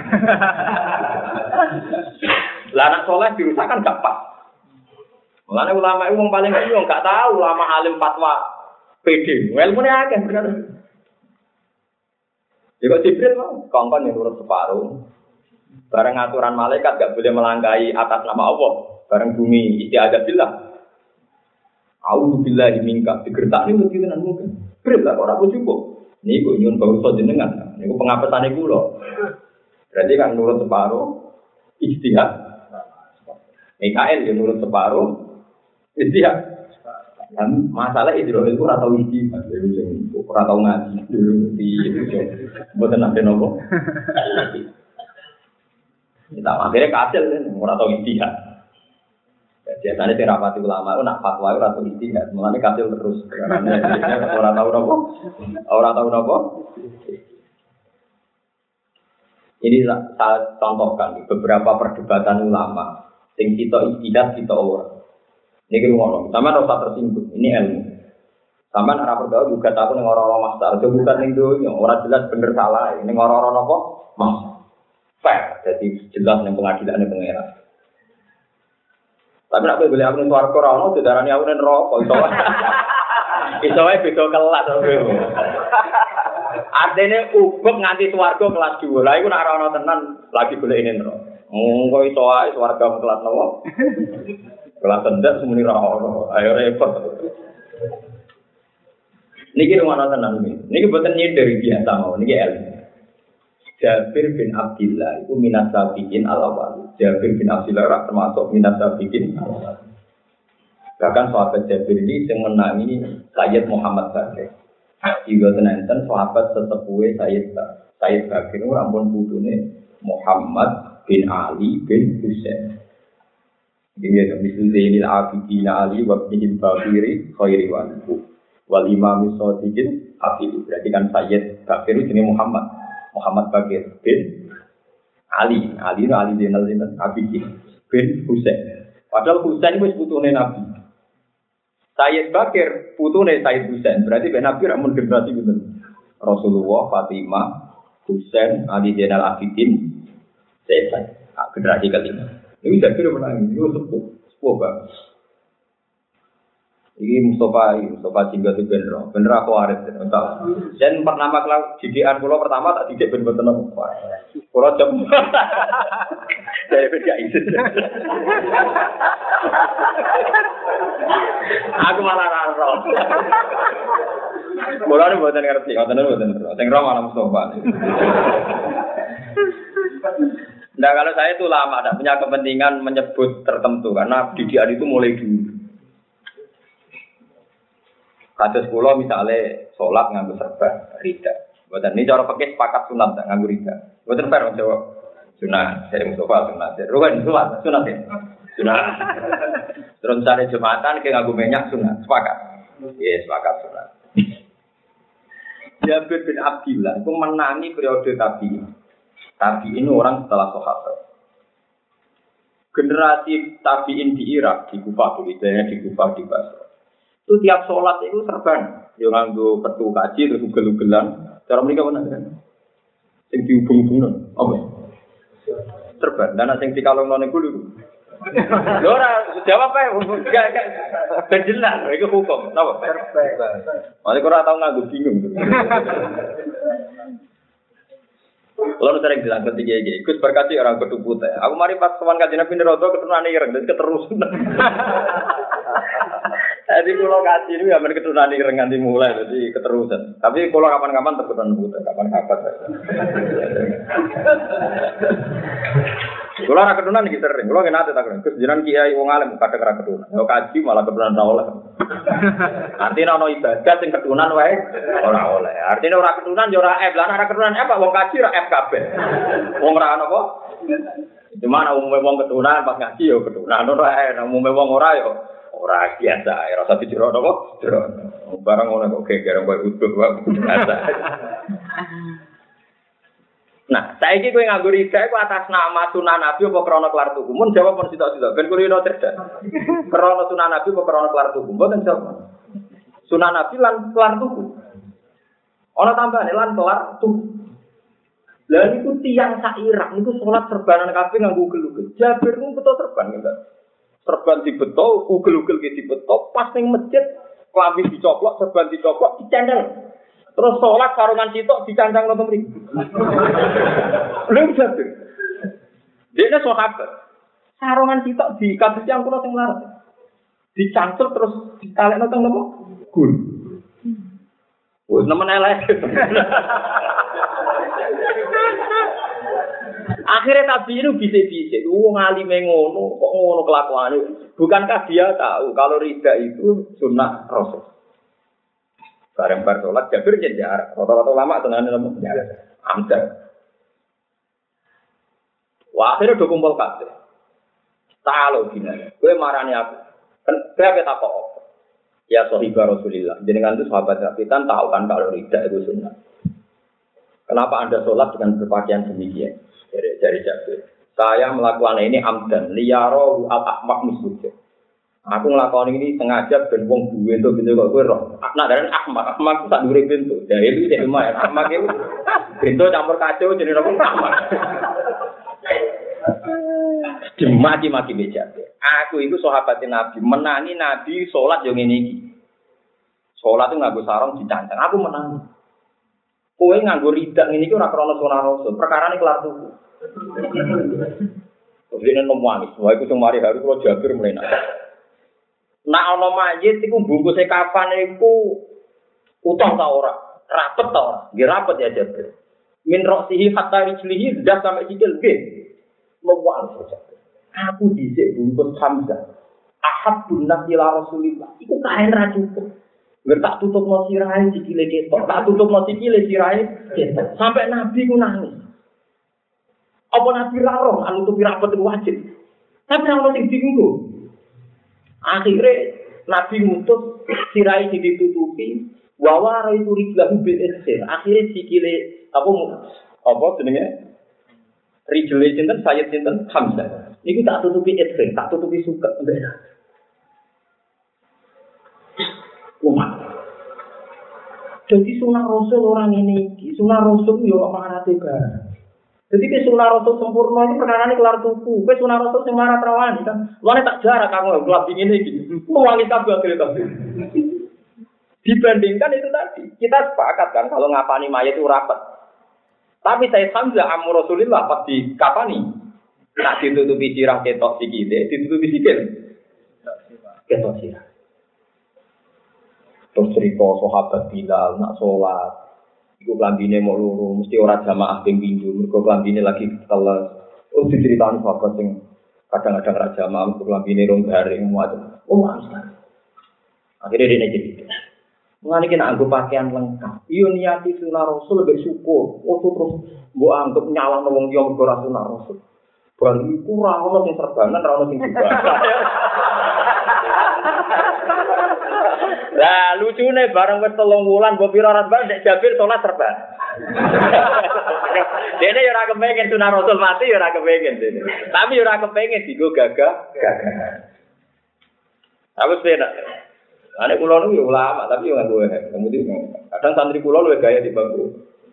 Lah anak soleh dirusak kan gak pas. Mulane ulama itu wong paling bingung gak tahu ulama alim fatwa P D. Ilmune akeh bener. Ya kok Jibril mau kongkon yang nurut separuh. Bareng aturan malaikat gak boleh melangkahi atas nama Allah. Bareng bumi istiadat billah. A'udzubillahi minka digertakne mesti tenan mungkin. Grip lah ora cukup. Niku nyun bangsa jenengan. Niku pengapesane kula. Berarti kan nurut separuh ijtihad. Mikael yang nurut separuh ijtihad. Dan masalah Israil itu ora tau ijtihad, ora tau ngaji dulu di itu. Mboten nate nopo. Kita akhirnya kasil kan ora tau ijtihad. Biasanya sing rapati ulama nak fatwa ora tau ijtihad, mulane kasil terus. Ora tau nopo. Ora tau nopo. Ini saya contohkan beberapa perdebatan ulama sing kita ijtihad kita ora. Niki ngono, sampean ora usah tersinggung. Ini ilmu. Sampean ora perlu juga takut ning ora-ora master, aja bukan ning donya, ora jelas bener salah. Ning ora-ora napa? Mas. Fair, jadi jelas ning pengadilane pangeran. Tapi nek kowe golek aku ning swarga ora ono didarani aku ning neraka, iso. Iso wae beda kelas to. Artine ubek nganti swarga kelas dua. Lah iku nek ora ono tenan lagi golek ning neraka. Monggo iso wae swarga kelas napa? Kelas rendah semuni ra ono. Ayo repot. Niki rumana tenan iki. Niki boten nyindir biasa mau niki ilmu. Jabir bin Abdullah itu minas sabiqin al-awwal. Jabir bin Abdullah termasuk minas sabiqin al-awwal. Bahkan sahabat Jabir ini yang menangi Sayyid Muhammad Bakir. Juga tenenten sahabat sesepuhe Sayyid Sayyid Bakir itu rampun putune Muhammad bin Ali bin Husain. Dia ada misalnya Zainil Abidin Ali wa bin Bakiri khairi waliku wal imam Sadiqin Abidin. Berarti kan Sayyid Bakir itu jenis Muhammad Muhammad Bakir bin Ali Ali itu Ali Zainal Abidin bin Husain. Padahal Husain itu putune Nabi. Sayyid Bakir putune Sayyid Husain. Berarti ben Nabi ramun generasi gitu. Rasulullah, Fatimah, Husain, Ali Zainal Abidin, Zaid. Generasi kelima. Ini Jabir menangis, ini sepuh, sepuh banget. Ini Mustafa, Mustafa Jingga itu bener, bener aku waris. Dan pertama kalau didikan pulau pertama tak didik bener bener pulau jam. Saya beda itu. Aku malah raro. Pulau ini buatan ngerti, buatan ini buatan ngerti. Yang ramah Mustafa. Nah kalau saya itu lama, tidak punya kepentingan menyebut tertentu karena didikan itu mulai dulu. Kados kula misalnya sholat nganggo serban rida. Mboten ini cara pakai sepakat sunat tak nganggo rida. Mboten fair jawab sunat dari Mustafa sunat. Rugen sholat sunat ya. Sunat. Terus misalnya Jumatan kayak nganggo minyak sunat, sepakat. Iya, sepakat sunat. Jabir bin Abdillah itu menangi periode tabi'in. Tabi'in orang setelah sahabat. Generasi tabi'in di Irak, di Kufah, di Kufah, di Basra. Itu tiap sholat itu serban. Yang nganggo petu kaji terus ugel-ugelan. Cara mereka mana kan? Yang dihubung-hubungkan. Apa? Serban. Dan yang dikalong-kalong itu dulu. Lora, jawab apa ya? Gak jelas, itu hukum. Tahu? Maksudnya kurang tahu nganggo bingung. Lalu sering bilang ketika ini, Gus berkati orang kudu putih. Aku mari pas sowan kajian Nabi Nerodo keturunan ireng, jadi keterusan. Jadi kalau kaji ini ya keturunan ireng nanti mulai, jadi keterusan. Tapi kalau kapan-kapan keturunan putih, kapan-kapan. Kalau orang keturunan ini sering, kalau nggak nanti tak keren. Gus jiran kiai wong alim kadang orang keturunan. Kalau kaji malah keturunan rawol. Artinya ono ibadah sing keturunan wae ora oleh. Artinya ora keturunan yo ora F. Lah ora keturunan apa wong kaji ora F kabeh. Wong ora ono apa? Cuma ana umume wong keturunan pas ngaji yo keturunan ora ana umume wong ora yo ora biasa. Ora usah dijero apa? Jero. Barang ngono kok geger koyo utuh wae biasa. Nah, saiki kowe nganggo rida iku atas nama sunan Nabi apa krana kelar tuku? Mun jawab pun sitok-sitok ben kulino cerdas. Krana sunan Nabi apa krana kelar tuku? Mboten jawab. Sunan Nabi lan kelar tuku. Ana tambahane lan kelar tuku. Lah niku tiyang sak Irak niku salat serbanan kabeh nganggo ugel-ugel. Jabir niku beto serban enggak. Serban dibeto, ugel-ugel ki dibeto, pas ning masjid klambi dicoplok, serban dicoplok, dicandel. Terus sholat sarungan sitok dicancang nonton mriki. Lha Jabir. Dene sahabat. Sarungan sitok di kados yang kula sing larat. Dicancel terus ditalekno teng nopo? Gun. Wes nemen elek. Akhirnya tabi itu bisik-bisik. Wong alime ngono, kok ngono kelakuane. Bukankah dia tahu kalau rida itu sunnah Rasul? Bareng bar sholat Jabir jadi jarak. Rata-rata lama tenan nemu jarak. Amdan. Wah, akhirnya udah kumpul kabeh. Talo gini. Gue marani aku. Kan berapa tak kok? Ya sahibah Rasulillah. Jenengan itu sahabat Rasulullah tahu kan kalau rida itu sunnah. Kenapa Anda sholat dengan berpakaian demikian? Dari dari Jabir. Saya melakukan ini amdan. Liyaro al-ahmak misbujah. Aku ngelakoni ini sengaja ben wong duwe entuk pintu kok kowe roh. Nak darane Ahmad, Ahmad ku sak dhuwure pintu. Ya itu iki lumayan. Ahmad itu pintu campur kacau jenenge apa Ahmad. Dimaki-maki beja. Aku iku sahabat Nabi, menani Nabi salat yo ngene iki. Salat itu nganggo sarung dicancang. Aku menang. Kowe nganggo ridak ngene iki ora krana sunah Rasul. Perkarane kelar tuku. Terus dene nomwani, wae ku sing mari haru kula Jabir mlenak. Nak ana mayit iku bungkuse kafan iku utuh ta ora? Rapet ta ora? Nggih rapet ya Jabir. Min roksihi hatta rijlihi ndas sampai sikil nggih. Lewal saja. Aku dhisik bungkus Hamzah. Ahabbun nas ila Rasulillah. Iku kaen ra cukup. Nggak tak tutupno sirahe sikile ketok, tak tutupno sikile sirahe ketok. Sampai Nabi ku nangis. Apa Nabi ra roh nutupi rapet iku wajib. Tapi ora sing dienggo. Akhirnya Nabi ngutus sirai ditutupi, wawara itu rijlahu bil ikhsir. Akhirnya sikile apa apa jenenge? Rijle sinten Sayyid sinten Hamzah. Niku tak tutupi ikhsir, tak tutupi suket mbek. Umat. Jadi sunah Rasul orang ini, sunah Rasul yo amanate barang. Jadi ke sunah Rasul sempurna itu perkara ini kelar tuku. Ke sunah Rasul yang marah terawani kan. Luarnya tak jarak kamu gelap dingin ini. Mewangi kabel akhirnya kabel. Dibandingkan itu tadi. Kita sepakat kan kalau ngapani mayat itu rapat. Tapi saya Hamzah amur Rasulillah pas di kapani. Tak ditutupi sirah ketok sikile. Ditutupi sikil. Ketok sirah. Terus cerita sahabat Bilal nak sholat. Iku klambine mau luru, mesti ora jamaah ping pindho, mergo klambine lagi teles. Oh diceritani sahabat sing kadang-kadang ra jamaah, mergo klambine rong garing macam. Oh mangsa. Akhirnya dia jadi. Mengani kena anggo pakaian lengkap. Iyo niati sunah Rasul lebih syukur. Oh terus mbok anggap nyalahno wong liya mergo ra sunah Rasul. Bali iku ora ono sing serbanan, ora ono sing jubah. Lah lucune bareng wis telung wulan mbok pira ora nek Jabir salat serban. Dene yo ora kepengin sunah Rasul mati yo ora kepengin dene. Tapi yo ora kepengin digo gagah gagah. Aku penak. Ane kula niku yo ulama tapi yo nganggo hek. Kemudian kadang santri kula luwih gaya di bangku.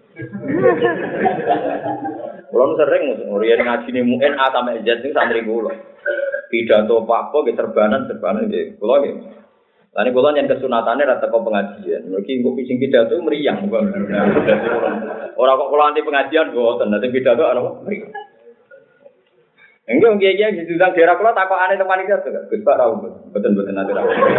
Kula sering nguriyen ngajine muin A sampai Z ning santri kula. Pidato apa ge serbanan serbanan nggih. Kula nggih. Lan kula yen kesunatane ra teko pengajian. Mergi engko pising pidato mriyang kok. Ora kok kula anti pengajian mboten. Nek pidato ana mriyang. Enggak nggih-nggih diundang daerah kula takokane teman iki to. Gus Pak ra mboten-mboten ate ra.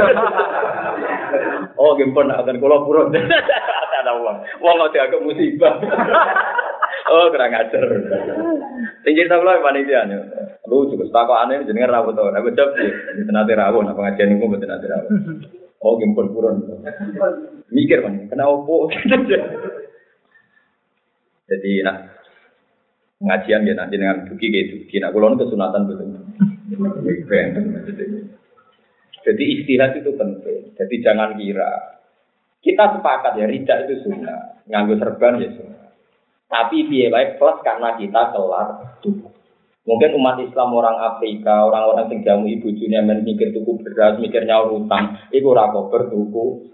Oh, nggih pun akan kula purun. Ada wong. Wong kok dianggap musibah. Oh, kurang ajar. Sing cerita kula panitia niku. Lu juga takokane jenenge ra beto. Nek jawab mboten ate rawuh nang pengajian niku mboten ate rawuh. Oh, nggih pun purun. Mikir man, kena opo. Jadi nah pengajian ya nanti dengan duki gitu, kina kulon kesunatan betul. Jadi istihad itu penting. Jadi jangan kira kita sepakat ya rida itu sunnah, nganggo serban ya sunnah. Tapi biaya baik plus karena kita kelar tubuh. Mungkin umat Islam orang Afrika, orang-orang yang jamu ibu junya mikir tuku beras, mikirnya utang, itu rakober tuku.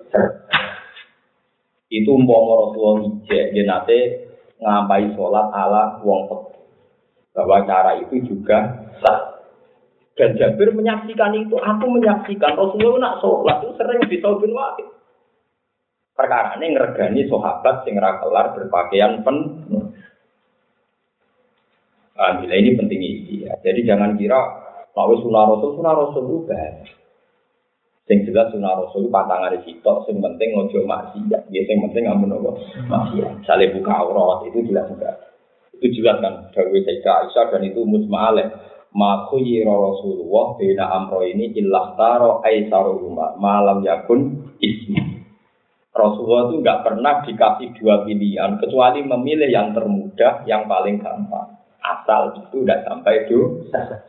Itu umpama Rasulullah ijek, dia nanti ngapai sholat ala wong pek. Bahwa cara itu juga sah. Dan Jabir menyaksikan itu, aku menyaksikan Rasulullah nak sholat itu sering disobin wahid. Perkara ini ngergani sahabat sing ra kelar berpakaian penuh. Alhamdulillah ini penting ini ya. Jadi jangan kira kalau sunah Rasul, sunah Rasul itu banyak. Sing jelas sunah Rasul patangan di situ, sing penting ngojo maksiat. Ya sing penting amun apa maksiat. Sale buka aurat itu jelas juga. Itu jelas kan dawuh Sayyidah Aisyah dan itu mujma' alaih. Ma khuyira Rasulullah baina amro ini illah taro aisaruhuma malam yakun ismi. Rasulullah itu enggak pernah dikasih dua pilihan kecuali memilih yang termudah, yang paling gampang. Asal itu tidak sampai dosa.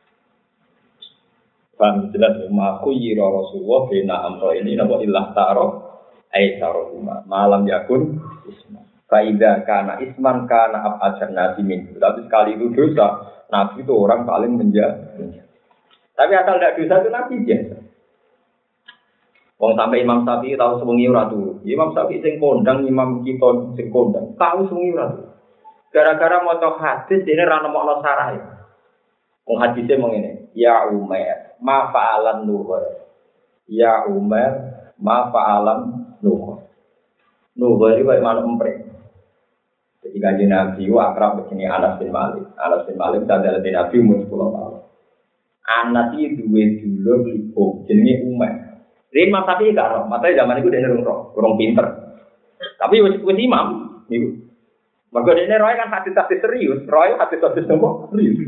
Paham jelas ma khuyira Rasulullah baina amro ini napa illah taro aisaruhuma malam yakun ismi. Faida kana isman kana abajar nabi min. Tapi sekali itu dosa, nabi itu orang paling menjaga. Tapi asal tidak dosa itu nabi biasa. Wong sampai Imam Syafi'i tahu sewengi ora turu. Imam Syafi'i sing kondang, Imam kita sing kondang, tahu sewengi ora turu. Gara-gara maca hadis dene ra nemokno sarahe. Wong hadise mung ngene, ya Umar, ma fa'alan nuhur. Ya Umar, ma fa'alan nuhur. Nuhur iki kaya manuk empreng. Jadi kanjeng Nabi itu akrab begini Anas bin Malik. Anas bin Malik adalah Nabi umur sepuluh tahun. Anas itu dua dulu ibu jenenge Umar. Jadi Imam Syafi'i gak roh, matanya zaman itu dia nerung roh, kurang pinter. Tapi wis wis imam, niku. Maka dene roh kan hadis-hadis serius, roh hadis-hadis nopo serius.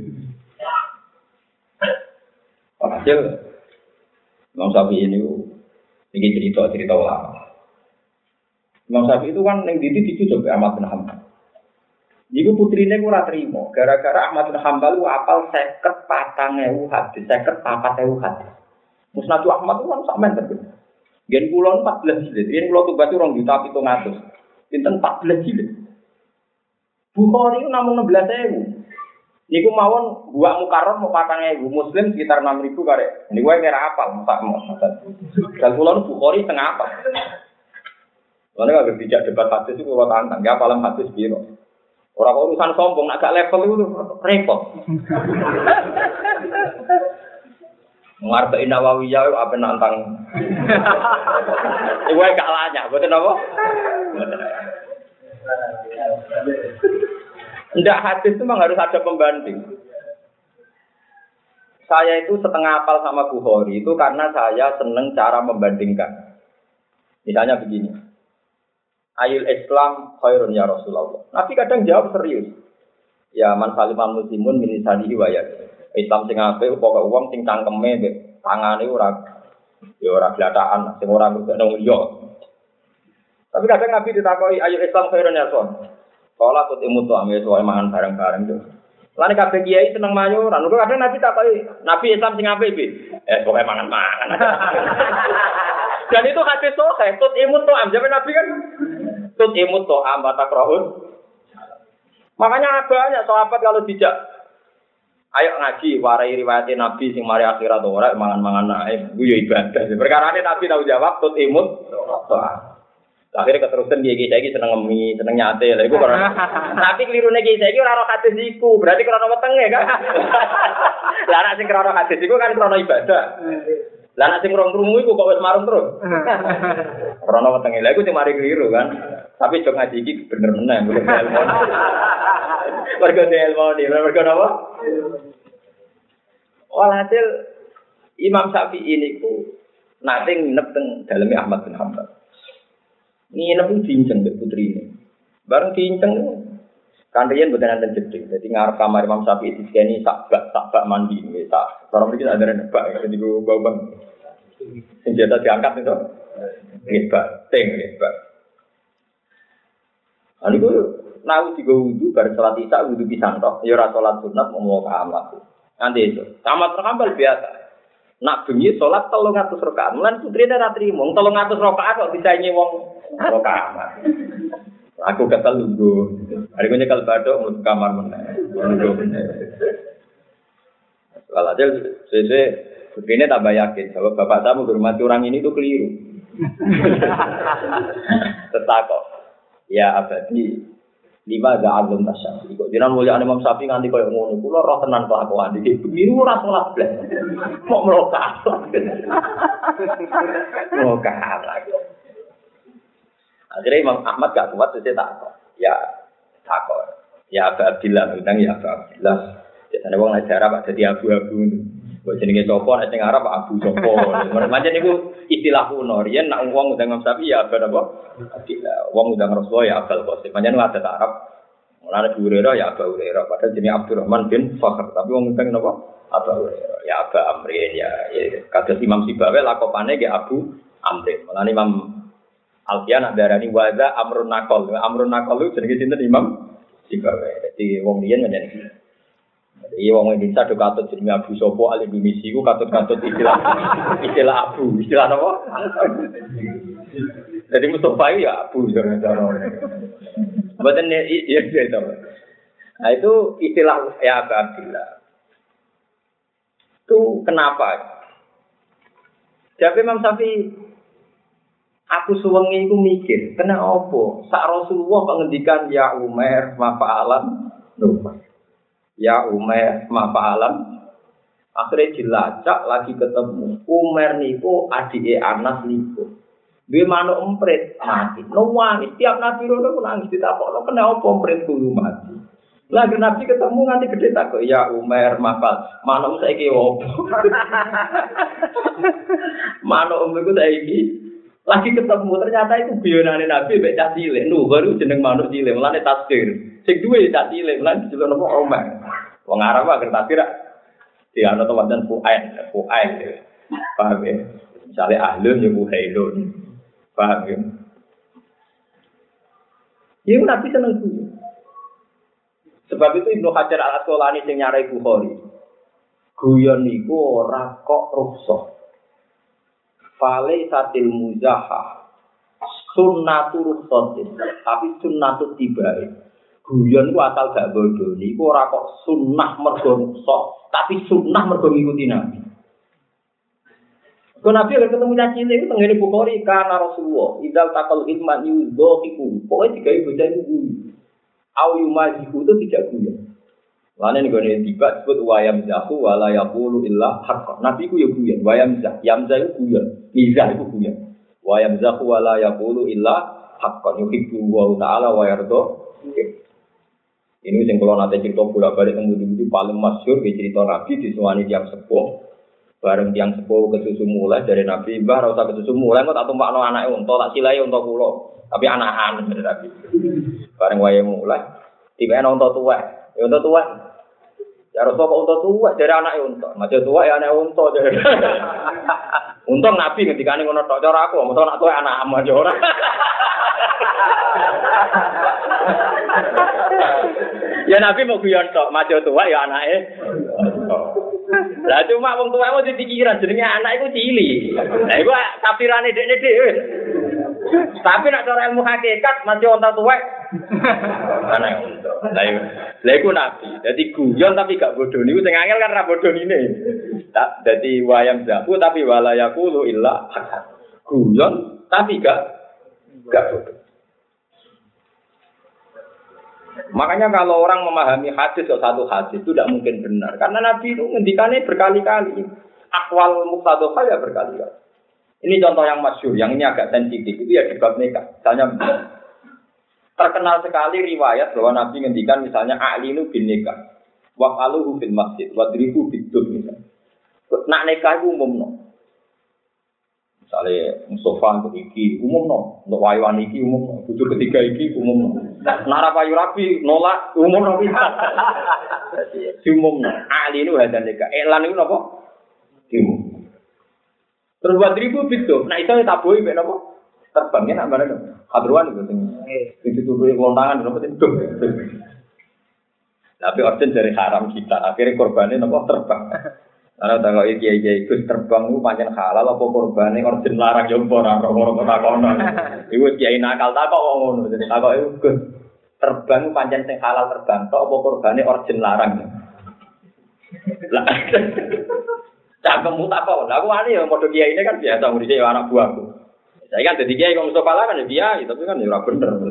Hasil Imam Syafi'i ini iki cerita-cerita ulama. Imam Syafi'i itu kan yang didi dicucuk Ahmad bin Hanbal. Ibu putrine ora trimo, gara-gara Ahmad bin Hanbal ku apal seket patang ewu hadis, seket papat ewu hadis. Musnad Ahmad itu kan sampean ten. Gen kula empat belas jilid, yen kula tugas rong juta pitung atus. Pinten empat belas jilid. Bukhari itu namung enam belas ewu. Niku mawon buak mukarrar mau patang ewu, Muslim sekitar enam ribu karek. Niku wae merah apal, sak maksud. Dan kula Bukhari tengah apa? Soalnya kalau tidak debat hadis itu kalau tantang, ya paling hadis biro. Orang urusan sombong, agak level itu repot. Mengartai Nawawiyah apa nantang? Ibu yang kalahnya, betul apa? Tidak hadis itu memang harus ada pembanding. Saya itu setengah hafal sama Bukhari itu karena saya senang cara membandingkan. Misalnya begini. Ayul Islam khairun ya Rasulullah. Nabi kadang jawab serius. Ya man saliman muslimun min lisanihi wa yadihi. Islam sing apik pokoke wong sing cangkeme mbek tangane ora ya ora glatakan, sing ora ngurungno yo. Tapi kadang Nabi ditakoki ayul Islam khairun ya Rasul. Kala kut imutu ame soal mangan bareng-bareng tuh. Lan kabeh kiai seneng mayuran. Kok kadang Nabi takoki, Nabi Islam sing apik iki. Eh pokoke mangan-mangan. Dan itu hadis sahih, tut imut to am. Jaman Nabi kan tut imut to am batakraun. Makanya banyak sahabat kalau dijak ayo ngaji warai riwayat Nabi sing mari akhirat ora mangan-mangan naik ku yo ibadah. Perkarane Nabi tahu jawab tut imut to am. Akhirnya keterusan dia kita iki seneng ngemi, seneng nyate. Lah iku ora. Tapi klirune kita iki ora ora hadis iku, berarti krana wetenge kan. Lah nek sing krana hadis iku kan krana ibadah. Lah nek sing rong-rungu iku kok wis marung terus. Krana wetenge. Lah iku sing mari kliru kan. Tapi jog ngaji iki bener meneh, bener ilmu. Mergo ilmu iki, mergo napa? Walhasil Imam Syafi'i niku nate nginep teng daleme Ahmad bin Hanbal. Ini lebih cincang dari putri ini. Barang cincang kan riyen mboten enten jeding. Dadi ngarep kamar Imam Syafi'i diseni sak bak sak bak mandi nggih sak. Cara mriki ada nebak dadi go bawang. Senjata diangkat itu. Nggih bak, teng nggih bak. Ani ku nau digo wudu bar salat isya wudu pisan tok. Ya ora salat sunat mau kamar. Nanti itu. Tamat rambal biasa. Nak bengi salat telung atus rakaat. Mulan putrine ra trimo. telung atus rakaat kok disaingi wong Kalau kamar, aku kata lunggu. Hari ini kalau badok mau kamar mana? Lunggu mana? Kalau aja, saya begini tambah yakin. Kalau bapak tamu hormati orang ini tuh keliru. Tetakok. Ya abadi lima gak alun tasya. Kok jangan mulia Imam Syafi'i nganti koyo ngono. Kulo roh tenan kelakuan iki. Keliru ora salat blas. Kok melokat. Melokat lagi. Akhirnya Imam Ahmad gak kuat, jadi takut. Ya, takut. Ya, Abu Abdillah, bilang ya Abu Abdillah. Biasanya orang Arab ada di abu-abu. Buat jenenge sopo, ada yang Arab Abu Sopo. Macam itu istilah kuno. Rian nak uang udah Imam Syafi'i ya Abu Abdillah. Uang udah Rasulullah ya Abu Qasim. Macam itu ada Arab. Mulanya Abu Hurairah ya Abu Hurairah. Padahal jenis Abdurrahman bin Fakhr. Tapi uang udah apa? Abu Hurairah. Ya Abu Amrin ya. Kados Imam Sibawi lakopannya ya Abu Amrin. Mulanya Imam Alfian darani waza amrun nakol. Amrun nakol itu jenenge sinten Imam Sibawi. Dadi wong liyan menjadi. Dadi wong Indonesia do katut jenenge Abu Sopo al Indonesia iku katut-katut istilah istilah Abu, istilah apa? Jadi Mustafa ya Abu cara-cara. Mboten iya itu. Nah itu istilah ya Abu Abdillah. Itu kenapa? Jadi Imam Syafi'i aku suwengi iku mikir, kena apa? Sak Rasulullah kok ngendikan ya Umar mafa'alan lupa. Ya Umar mafa'alan. Akhirnya dilacak lagi ketemu. Umar niku adike Anas niku. Duwe manuk emprit mati. Nangis tiap nabi rono ku nangis ditakokno kena apa emprit kudu mati. Lagi nabi ketemu nganti gede takok ya Umar mafal. Manuk saiki opo? Manuk umku saiki lagi ketemu ternyata itu guyonane Nabi mek cah cilik. Nuh baru jeneng manuk cilik, mulane tasbih. Sing duwe cah cilik, mulane dijeluk napa Umar. Wong Arab agar tasbih di ana teman Fuaid, Fuaid. Paham ya? Misale ahlun ya Fuaidun. Paham ya? Iku Nabi seneng guyon. Sebab itu Ibnu Hajar Al-Asqalani sing nyarai Bukhari. Guyon niku ora kok rukhsah. Fale satil muzahah sunnatu rukhsatin tapi sunnatu tibae guyon ku asal gak bodoh niku ora kok sunnah mergo rukhsah tapi sunnah mergo ngikuti Nabi. Kok Nabi lek ketemu caci niku tengene Bukhari kana Rasulullah idal taqal ilman yudhiku pokoke digawe bocah iku au yumajiku itu tidak guyon. Lane nek ngene tiba disebut wayam zahu wala yaqulu illa haqq. Nabi ku yo guyon, wayam zah, yamza iku guyon, mizah iku guyon. Wayam zahu wala yaqulu illa haqq. Yuhibbu wa ta'ala wa yarda. Ini sing kula nate cerita bolak-balik teng budi paling masyhur ki cerita Nabi disuwani tiyang sepuh. Bareng tiyang sepuh kesusu mulai dari Nabi, "Mbah, ora usah kesusu mulai kok tak tumpakno anake unta, tak silahi unta kula." Tapi anakan dari Nabi. Bareng wayahe mulai, tiba ana unta tuwek. Ya unta tuwek. Ya Rasul kok unta tua, dari anak unta. Macam tua ya anak unta. Untung Nabi ngendikane ngono tok cara aku, mosok anak tua anak am aja ora. Ya Nabi mau guyon tok, maju tua ya anake. Lah cuma wong tuwa mau dipikiran jenenge anak iku cili. Lah iku tafsirane dekne dhewe. Tapi nek cara ilmu hakikat masih onta tua. Anak unta. Lah iku lha iku Nabi. Dadi guyon tapi gak bodoh niku sing angel kan ra bodoh ngene. Tak dadi wayang zaku tapi wala yaqulu illa hasan. Guyon tapi gak gak bodoh. Makanya kalau orang memahami hadis atau satu hadis itu tidak mungkin benar. Karena Nabi itu ngendikannya berkali-kali. Akwal muqtadhah ya berkali-kali. Ini contoh yang masyhur, yang ini agak sensitif. Itu ya di bab nikah. Misalnya terkenal sekali riwayat bahwa Nabi ngendikan misalnya a'linu bin nikah. Waqaluhu fil masjid. Wadribu bidud misalnya. Nak nikah itu umum no. Misalnya Mustafa untuk iki umum no. Untuk wayuan iki umum no. Butuh ketiga iki umum no. Nara payu rapi nolak umum no bisa. Umum no. Ali ini ada nikah. Elan itu apa? Umum. Terus buat ribu itu. Nah itu taboi be apa? Terbangnya nak mana dong? Hadruan itu sing. Itu tuh lontangan apa itu? Tapi origin dari haram kita. Akhirnya korbannya apa terbang. Ana tanggo iki-iki Gus terbang ku pancen halal apa korbane origin larang yo ora ora ora kono. Iku kiai nakal tak kok ngono. Dadi tak kok iku Gus terbang pancen sing halal terbang tok apa korbane origin larang. Lah cangkemmu tak kok. Lah aku ani yo padha kiai ini kan biasa murid yo anak buahku. Saya kan dadi kiai kok Mustofa kan ya kiai tapi kan yo ora bener.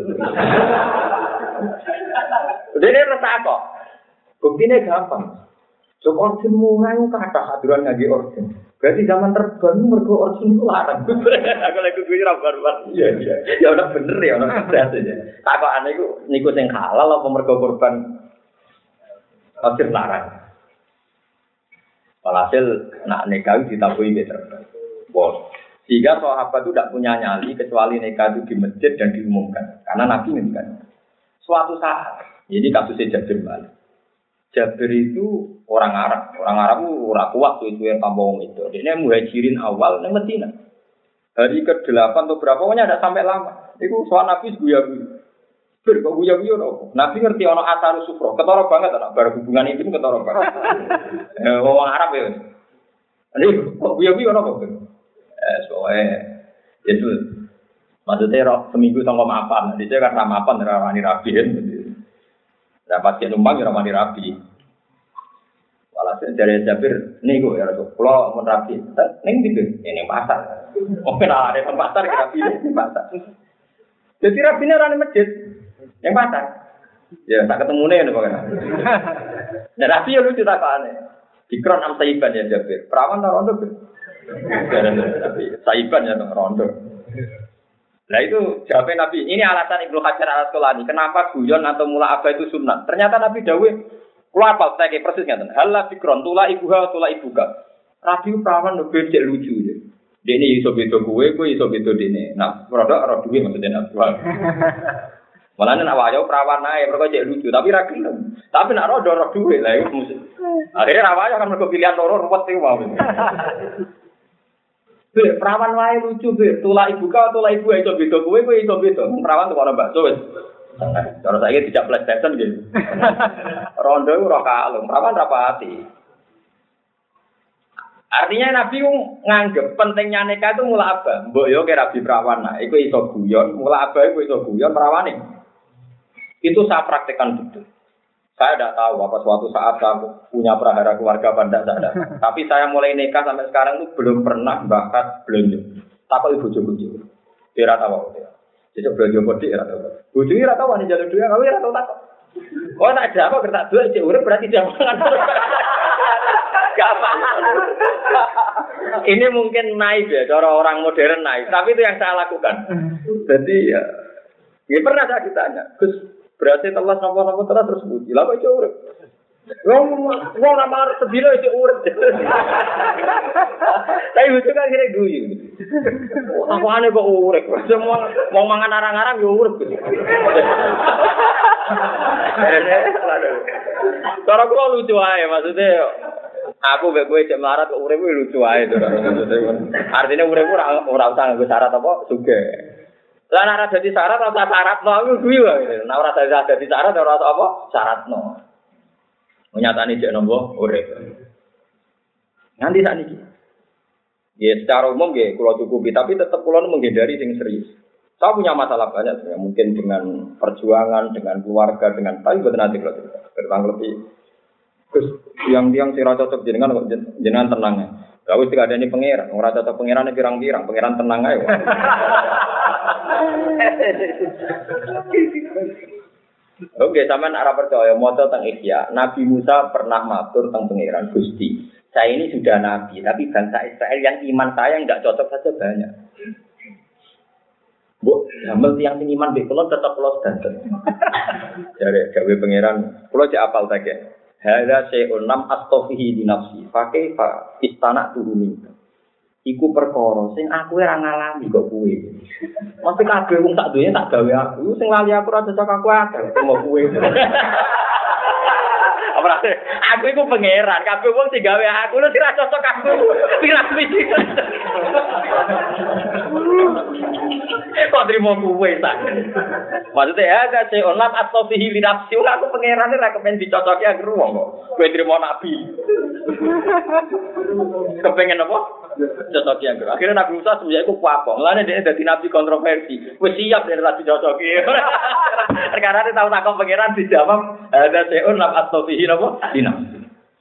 Dene rasa kok. Buktine gampang. Jok origin mulai kata haduran ngaji origin. Berarti zaman terbang mergo origin itu larang. Aku lagi gue rabar-rabar. Iya iya. Ya udah bener ya, udah bener aja. Tak kok aneh ku niku sing halal apa mergo korban origin larang. Walhasil nak nikah ditabui beter. Bos. Sehingga sahabat itu tidak punya nyali kecuali nikah itu di masjid dan diumumkan. Karena Nabi ngendikan. Suatu saat, jadi kasusnya Jabir balik. Jabir itu orang Arab, orang Arab itu orang kuat tuh itu yang tambah itu. Dia muhajirin awal di Madinah. Hari ke delapan atau berapa pokoknya ada sampai lama. Itu soal Nabi guya-guya. Bir kok guya-guya dong. Nabi ngerti ono asar sufro, ketara banget anak bar hubungan itu ketara banget. Eh orang Arab ya. Ini kok guya-guya ono kok. Eh soalnya itu maksudnya roh seminggu sama maafan. Dia kan sama maafan rawani rabiin. Dapat dia numpang ya ramani rapi. Walhasil dari Jabir, nih gue ya Rasul, kalau mau rapi, neng tidur, ini pasar. Mungkin ada yang pasar rapi di pasar. Jadi rapinya orang di masjid, yang pasar. Ya tak ketemu nih, bagaimana? Dan rapi ya lucu tak aneh. Dikron am saiban ya Jabir, perawan tak rondo. Saiban ya rondo. Nah itu jawabnya Nabi. Ini alasan Ibnu Hajar al-Asqalani. Kenapa guyon atau mula apa itu sunnah? Ternyata Nabi dawuh, kula apal saya kayak persis ngaten. Halla fikron tula ibuha tula ibuka. Rabi perawan lho becek lucu ya. Dene iso beda kowe, kowe iso beda dene. Nah, produk ora duwe maksudnya Nabi. Malane nek wayo perawan ae mergo cek lucu, tapi ra gelem. Tapi nek ora ora duwe lah iku mesti. Akhire ra wayo kan mergo pilihan loro ruwet iku mau. Bir, perawan wae lucu bir, tula ibu kau, tula ibu iso beda kowe, kowe iso beda. Perawan tuh ana bakso wis. Cara saiki dijak PlayStation gitu. Rondo ora kalung, perawan ra pati. Artinya Nabi nganggep pentingnya nikah itu mula apa? Mbok yo ke rabi perawan nah, iku iso guyon, mula apa iku iso guyon perawane. Itu saya praktekkan betul. Saya tidak tahu apa suatu saat saya punya prahara keluarga apa tidak ada. Tapi saya mulai nikah sampai sekarang itu belum pernah bahas belanja. Takut ibu jojo. Dia rata tahu. Jadi belanja kode dia rata tahu. Buju dia rata tahu nih jalur dua. Kamu rata tahu tak? Oh tak ada apa kertas dua cek urip berarti jangan. Gak apa. Ini mungkin naif ya, cara orang modern naif. Tapi itu yang saya lakukan. Jadi ya, ya pernah saya ditanya, Gus. Berarti telah nopo-nopo telah terus puji. Lah kok iso urip? Wong wong ra mar sedina iso urip. Tapi lucu kan kira guyu. Apane kok urip? Semua wong mangan arang-arang yo urip. Cara kok lucu ae maksudnya aku mbek kowe cek melarat kok urip lucu ae to. Artinya urip ora ora usah nggo syarat apa sugih. Lah nek ora dadi syarat ora syarat no aku kuwi wae. Nek ora dadi syarat ora apa syaratno. Menyatani jek nombo urip. Nanti saat ini. Ya secara umum ya kula cukupi, tapi tetap kula menghindari sing serius. Saya punya masalah banyak sebenarnya, mungkin dengan perjuangan, dengan keluarga, dengan tapi buat nanti kalau tentang lebih. Terus yang yang sira cocok jenengan kok jenengan tenang ya. Gak wis ada ini pangeran, ora cocok pangerane pirang-pirang, pangeran tenang ae. Oke, sampean ora percaya maca teng Ihya, Nabi Musa pernah matur teng pangeran Gusti. Saya ini sudah nabi, tapi bangsa Israel yang iman saya enggak cocok saja banyak. Bu, hamil tiang sing iman be kula tetep kula sedanten. Jare gawe pangeran, kula cek apal take. Hadza syai'un lam astafihi di nafsi. Pakai fa istana turuni. Iku perkara sing aku ora ngalami kok kowe. Mesti kabeh wong sak donya tak gawe aku, sing lali aku ora cocok aku akeh mau kowe. Apa aku iku pangeran, kabeh wong sing gawe aku lu ora cocok aku. Pirang-pirang. Kok terima kowe sak. Maksudnya ya ada saya onat atau fihi linafsi, aku pangeran ora kepen dicocoki aku wong kok. Kowe terima nabi. Kepengen apa? Cocoki aku. Akhirnya Nabi Musa sebenarnya aku kuapong. Lane dia dadi nabi kontroversi. Wis siap nek ora dicocoki. Perkara ini tahu takok pangeran dijawab ada saya onat atau fihi apa? Linafsi.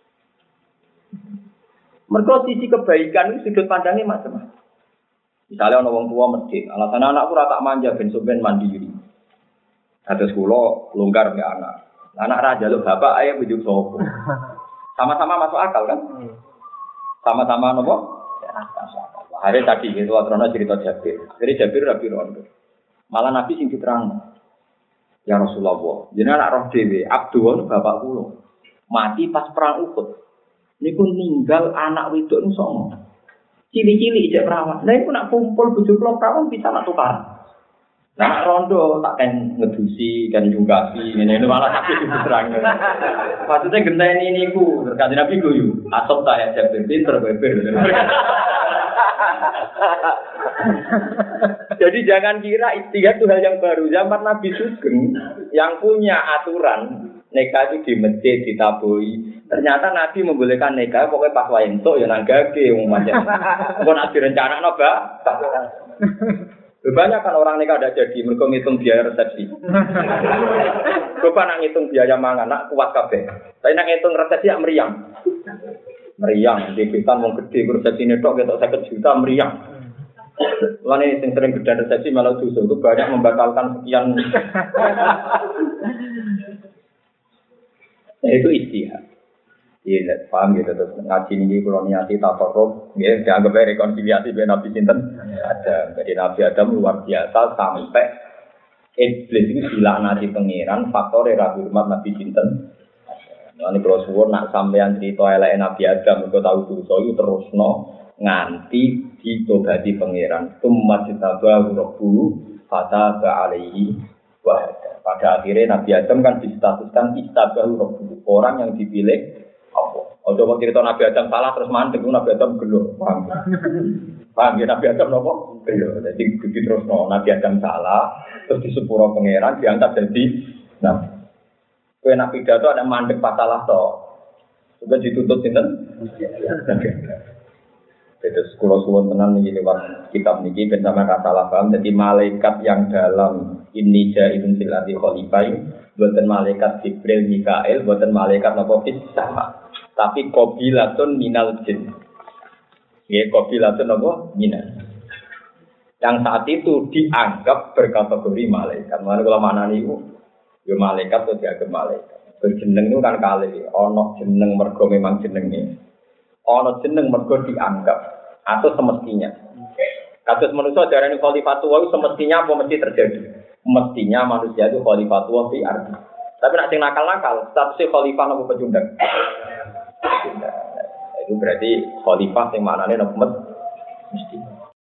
Mergo sisi kebaikan itu sudut pandangnya macam-macam. Misalnya ana wong tua medhit, alasan anakku ora tak manja ben sampean mandiri. Kados kula longgar mbek anak. Anak ra njaluk bapak ayo bujuk sapa. Sama-sama masuk akal kan? Sama-sama napa? Masuk akal. Hari tadi itu atrono cerita Jabir. Jadi Jabir ra piro. Malah Nabi sing diterangno. Ya Rasulullah, jenengan anak roh dhewe, Abdul bapak kula. Mati pas perang Uhud. Niku ninggal anak wedok nu songo. Cili-cili ijek perawan. Lah iku nak kumpul bojo kula perawan bisa nak tukar. Nah rondo tak kan ngedusi kan jungkasi ngene malah tapi diterang. Maksudnya genteni niku terkait Nabi guyu. Asop tak ya Jabir pinter beber. Jadi jangan kira istihad itu hal yang baru. Zaman Nabi Sugeng yang punya aturan nikah itu di masjid ditabui. Ternyata Nabi membolehkan nikah pokoknya pas wae entuk ya nang gage wong macam. Kok nak direncanakno, Mbak? Banyak kan orang nikah ada jadi mergo ngitung biaya resepsi. Coba nak ngitung biaya mangan nak kuat kabeh. Tapi nak ngitung resepsi ya meriang. Meriang, debitan wong gede resepsine tok ketok seket juta meriang. Mulane sing sering gedhe resepsi malah dosa itu banyak membatalkan sekian. Nah, itu istihad. Iya, paham gitu terus ngaji ini kalau niati tafarruq, ya dianggap rekonsiliasi dengan Nabi sinten ada. Jadi Nabi Adam luar biasa sampai iblis itu dilaknati pangeran faktor rabi hormat Nabi sinten. Ini kalau suwun nak sampean cerita elek Nabi Adam kok tahu dosa itu terusno nganti ditobati pangeran. Tsumma jitabahu rabbuhu fataba alaihi wa hada. Pada akhirnya Nabi Adam kan distatuskan istabahu rabbuhu, orang yang dipilih Allah. Ojo kok cerita Nabi Adam salah terus mandek Nabi Adam gelo. Paham? Paham ya Nabi Adam nopo? Gelo. Jadi begitu terus no Nabi Adam salah terus disepuro pangeran diangkat jadi nabi. Kowe nak pidato ada mandek pasalah to. Sudah dituntut sinten? Terus kula suwun tenan iki lewat kitab niki ben sampeyan ra salah paham. Jadi malaikat yang dalam ini jailun fil ardi khalifah boten malaikat Jibril Mikail, boten malaikat napa fis sama. Tapi qabilatun minal jin. Nggih, qabilatun apa? Minal. Yang saat itu dianggap berkategori malaikat. Mana kalau mana niku? Ya malaikat atau dianggap malaikat. Berjeneng itu kan kali, ono jeneng mergo memang jenenge. Ono jeneng mergo dianggap atau semestinya. Kasus manusia darani khalifatullah semestinya apa mesti terjadi? Mestinya manusia itu khalifatullah fi ardi. Tapi nek sing nakal-nakal, statusnya khalifah apa pecundang? Nah, itu berarti khalifah yang maknanya nopo mesti.